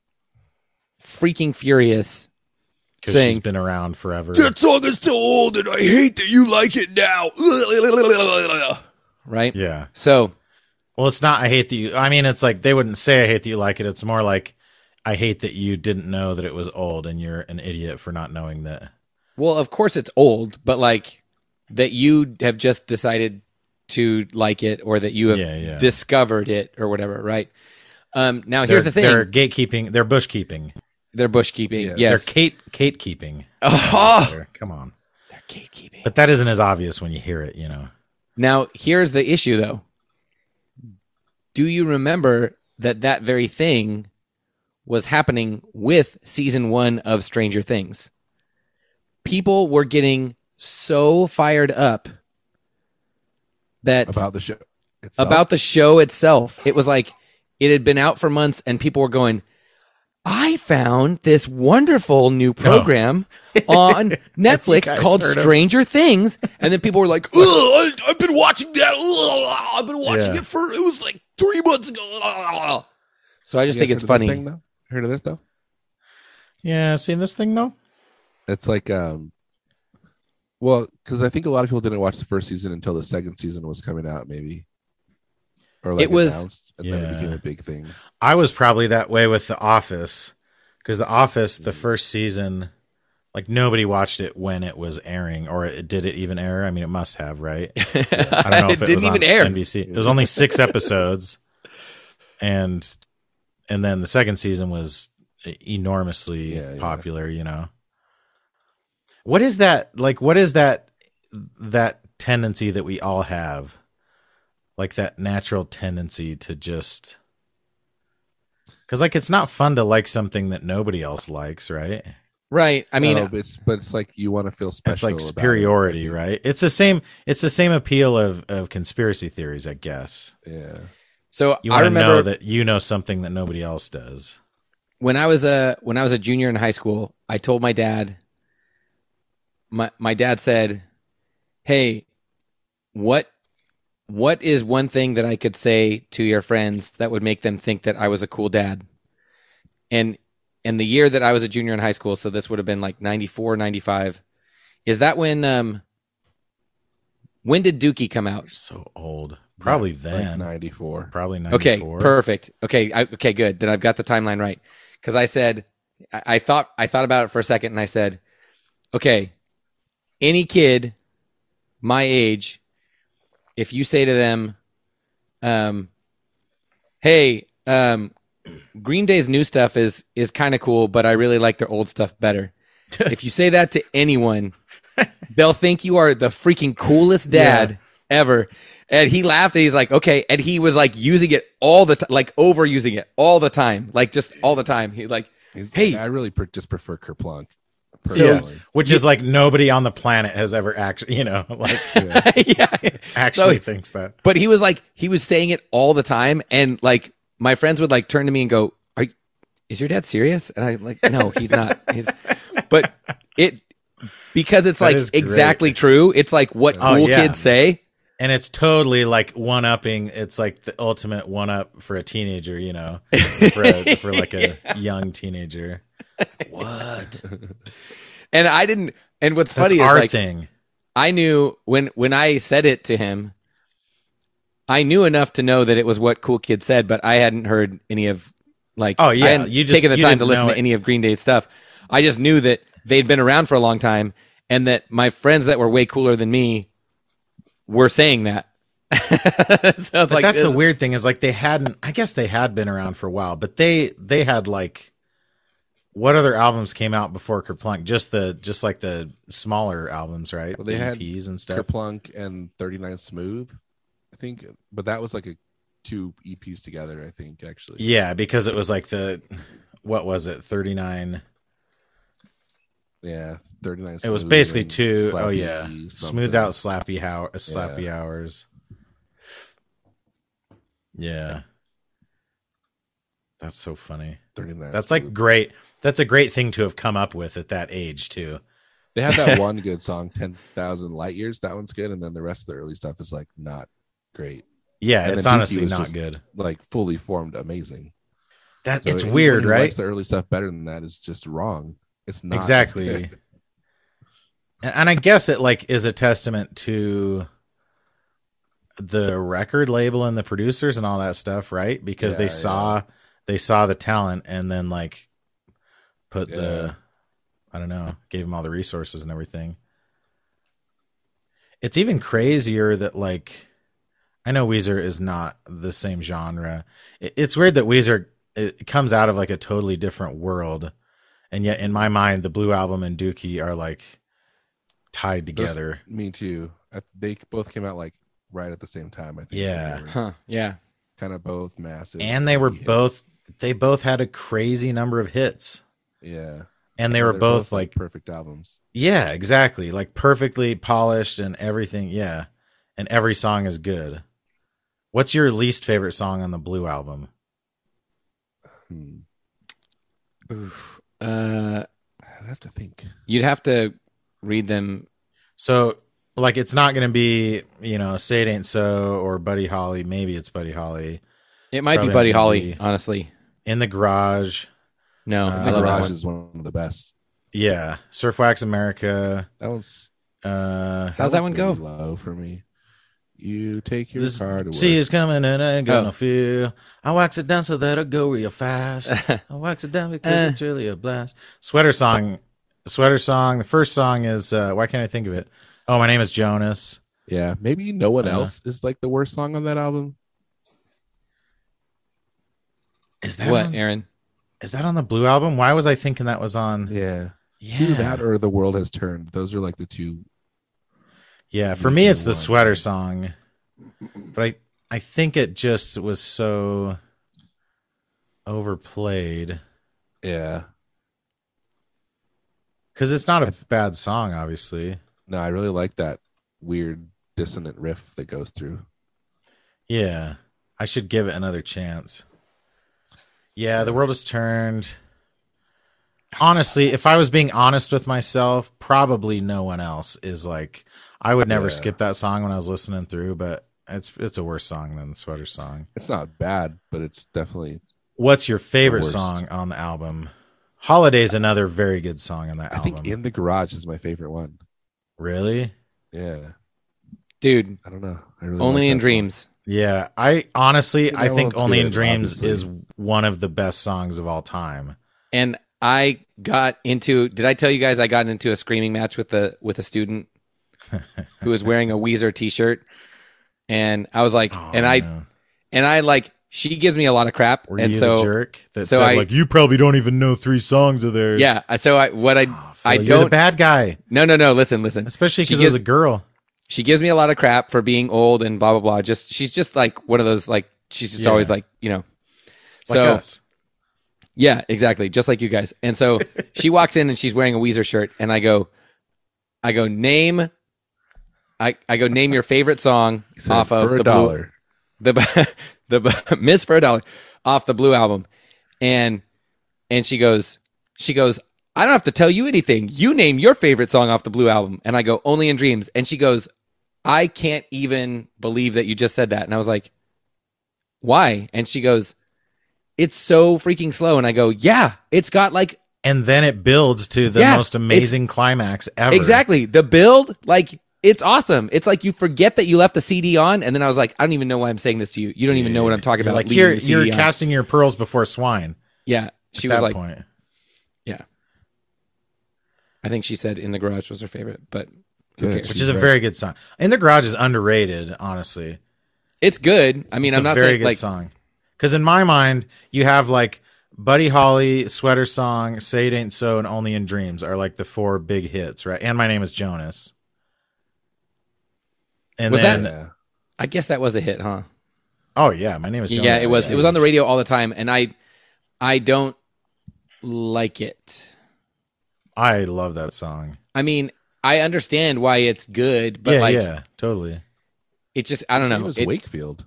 freaking furious. Because Saying- she's been around forever. song is too old and I hate that you like it now. Right? Yeah. So, Well, it's not I hate that you. I mean, it's like they wouldn't say I hate that you like it. It's more like I hate that you didn't know that it was old and you're an idiot for not knowing that. well, of course it's old, but like that you have just decided to like it or that you have Yeah, yeah. discovered it or whatever, right? Um, now, here's the They're- thing. They're gatekeeping. They're bush keeping. They're bush keeping. Yes. Yes. They're Kate Kate keeping. Oh, Come on. they're gatekeeping. But that isn't as obvious when you hear it, you know. Now, here's the issue, though. Do you remember that that very thing was happening with season one of Stranger Things? People were getting so fired up that About the show itself. about the show itself. It was like it had been out for months, and people were going, I found this wonderful new program on Netflix guys called heard of- Stranger Things. And then people were like, Ugh, I, I've been watching that. Ugh, I've been watching Yeah. it for, it was like three months ago. Ugh." So I just You think guys it's heard of this funny. thing, though? Heard of this though? Yeah, seen this thing though? It's like um well, because I think a lot of people didn't watch the first season until the second season was coming out, maybe. Or like It was- announced, and then it Yeah. became a big thing. I was probably that way with The Office because The Office, the first season, like nobody watched it when it was airing, or it, did it even air? I mean, it must have, right? I don't know if It it, didn't was even on air. N B C. It was only six episodes, and and then the second season was enormously Yeah, yeah. popular. You know, what is that like? What is that that tendency that we all have? Like that natural tendency to just, because like it's not fun to like something that nobody else likes, right? Right. I mean, No, but it's but it's like you want to feel special. It's like about superiority, it. right? It's the same. It's the same appeal of of conspiracy theories, I guess. Yeah. so You I want to remember know that you know something that nobody else does. when I was a when I was a junior in high school, I told my dad. My my dad said, "Hey, what what is one thing that I could say to your friends that would make them think that I was a cool dad?" And and the year that I was a junior in high school, so this would have been like ninety-four, ninety-five. Is that when um when did Dookie come out? So old, probably Like then. ninety-four. Probably Okay, ninety-four. perfect. Okay, I, okay, good. Then I've got the timeline right. Because I said, I, I thought, I thought about it for a second, and I said, okay, any kid my age, if you say to them, um, "Hey, um, Green Day's new stuff is is kind of cool, but I really like their old stuff better." If you say that to anyone, they'll think you are the freaking coolest dad ever. And he laughed and he's like, okay. And he was like using it all the time, like overusing it all the time, like just all the time. He's like, He's hey, like, I really per- just prefer Kerplunk. Yeah, Personally. which is like nobody on the planet has ever actually, you know, like yeah. actually So- thinks that. But he was like, he was saying it all the time. And like my friends would like turn to me and go, are you, is your dad serious? And I'm like, no, he's not. He's, but it, because it's That like is great. exactly true. It's like what Oh, cool yeah. kids say. And it's totally like one upping. It's like the ultimate one up for a teenager, you know, for, a, for like a young teenager. What? And I didn't, and what's That's funny our is like, thing. I knew when, when I said it to him, I knew enough to know that it was what cool kids said, but I hadn't heard any of like, Oh, yeah. I hadn't You just- taken the you time to didn't listen know to it. any of Green Day's stuff. I just knew that they'd been around for a long time and that my friends that were way cooler than me were saying that. so it's But like, that's the this- weird thing is like they hadn't. I guess they had been around for a while, but they they had like what other albums came out before Kerplunk? Just the just like the smaller albums, right? Well, they The had E Ps and stuff. Kerplunk and thirty-nine Smooth, I think. But that was like a two E Ps together, I think, actually. Yeah, because it was like the what was it? thirty-nine. Yeah, thirty-nine It was Smooth basically and two oh Slappy yeah, something. smooth out slappy how slappy Yeah. hours. Yeah, that's so funny. thirty-nine That's Smooth. like great. That's a great thing to have come up with at that age too. They have that one good song, ten thousand Light Years. That one's good. And then the rest of the early stuff is like not great. Yeah, And it's then Dookie honestly was not just- good. Like fully formed, amazing. That So it's anyone weird, who right? Likes the early stuff better than that is just wrong. It's not as Exactly. good. And and I guess it like is a testament to the record label and the producers and all that stuff, right? Because Yeah, they yeah. saw they saw the talent and then like put Yeah. the I don't know, gave them all the resources and everything. It's even crazier that like I know Weezer is not the same genre. It, it's weird that Weezer it comes out of like a totally different world, and yet in my mind, the Blue Album and Dookie are like tied Those- together. Me too. I, they both came out like right at the same time, I think. Yeah. huh, yeah. Kind of both massive. And they were hits. both they both had a crazy number of hits, Yeah. and they were They're both like perfect albums. yeah, exactly, like perfectly polished and everything. Yeah, and every song is good. What's your least favorite song on the Blue Album? Hmm. Oof. Uh, I'd have to think. you'd have to read them. So, like, it's not going to be, you know, Say It Ain't So or Buddy Holly. Maybe it's Buddy Holly. It might Probably be Buddy not gonna Holly, be. honey. In the Garage. No, Uh, I The love that Garage one. is one of the best. Yeah. Surf Wax America. That one's Uh, How's that one one's go? really low for me. You take your this car to work. sea is coming and I ain't gonna Oh. feel. I wax it down so that I go real fast. I wax it down because Uh. it's really a blast. Sweater Song. Sweater Song. The first song is, uh, why can't I think of it? Oh, My Name is Jonas. Yeah, maybe no one Uh-huh. else is like the worst song on that album. Is that What, on, Aaron? is that on the Blue Album? Why was I thinking that was on? Yeah. Yeah. It's either that or The World Has Turned. Those are like the two. Yeah, for Weaker me it's the ones. Sweater Song. But I I think it just was so overplayed. Yeah. Because it's not a bad song, obviously. No, I really like that weird dissonant riff that goes through. Yeah. I should give it another chance. Yeah, The World Has Turned. Honestly, if I was being honest with myself, probably no one else is like, I would never Yeah. skip that song when I was listening through, but it's it's a worse song than the Sweater Song. It's not bad, but it's definitely. What's your favorite worst. song on the album? Holiday's another very good song on that I album. think In the Garage is my favorite one. Really? Yeah, Dude, I don't know. I really Only like in that song. Dreams. Yeah, I honestly, That I think one's Only in good, Dreams obviously. is one of the best songs of all time. And I got into. Did I tell you guys I got into a screaming match with the with a student who was wearing a Weezer T-shirt, and I was like, Oh, and I no. and I like she gives me a lot of crap, Were and you so the jerk that so said I- like, you probably don't even know three songs of theirs? yeah. So I what I Oh, Phil, I you're the don't. bad guy, No, no, no. Listen, listen. especially She because it was gives- a girl. She gives me a lot of crap for being old and blah blah blah. Just she's just like one of those like she's just Yeah. always like you know. Like So us. yeah, exactly, just like you guys. And so she walks in and she's wearing a Weezer shirt, and I go, I go name, I I go name your favorite song He said, off of for a the Blue, dollar. the the Miss for a dollar off the Blue album, and and she goes she goes I don't have to tell you anything. You name your favorite song off the Blue album, and I go Only in Dreams, and she goes, I can't even believe that you just said that, and I was like, why? And she goes, it's so freaking slow, and I go, yeah, it's got like And then it builds to the Yeah, most amazing climax ever. exactly the build like. It's awesome. It's like you forget that you left the C D on, and then I was like, I don't even know why I'm saying this to you. You don't even know what I'm talking You're about. like, leaving you're, the C you're D on. casting your pearls before swine. Yeah, she at was that like, point. yeah. I think she said In the Garage was her favorite, but who Good. cares? Which She's is a right. very good song. In the Garage is underrated, honestly. It's good. I mean, It's I'm a not very saying good like song. Because in my mind, you have like Buddy Holly, Sweater Song, Say It Ain't So, and Only in Dreams are like the four big hits, right? And My Name is Jonas. And Was then, that- Yeah. I guess that was a hit, huh? oh yeah, My Name is Jonas. Yeah, it was. is It was on the radio all the time, and I, I don't like it. I love that song. I mean, I understand why it's good, but yeah, like, yeah, totally. it just I don't It know. was It- Wakefield.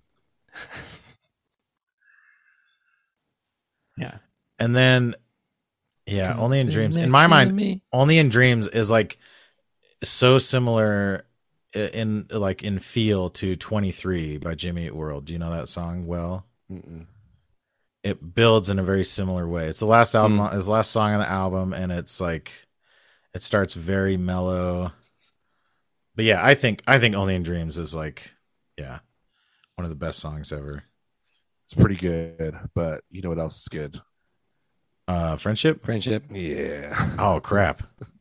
yeah. And then, yeah, Come Only in stand Dreams. In next my to mind, me. Only in Dreams is like so similar i- in like in feel to twenty-three by Jimmy Eat World. Do you know that song well? Mm-mm. It builds in a very similar way. It's the last album, Mm. it's the last song on the album, and it's like it starts very mellow. But yeah, I think I think Only in Dreams is like yeah, one of the best songs ever. It's pretty good, but you know what else is good? Uh Friendship? Friendship. Yeah. Oh crap.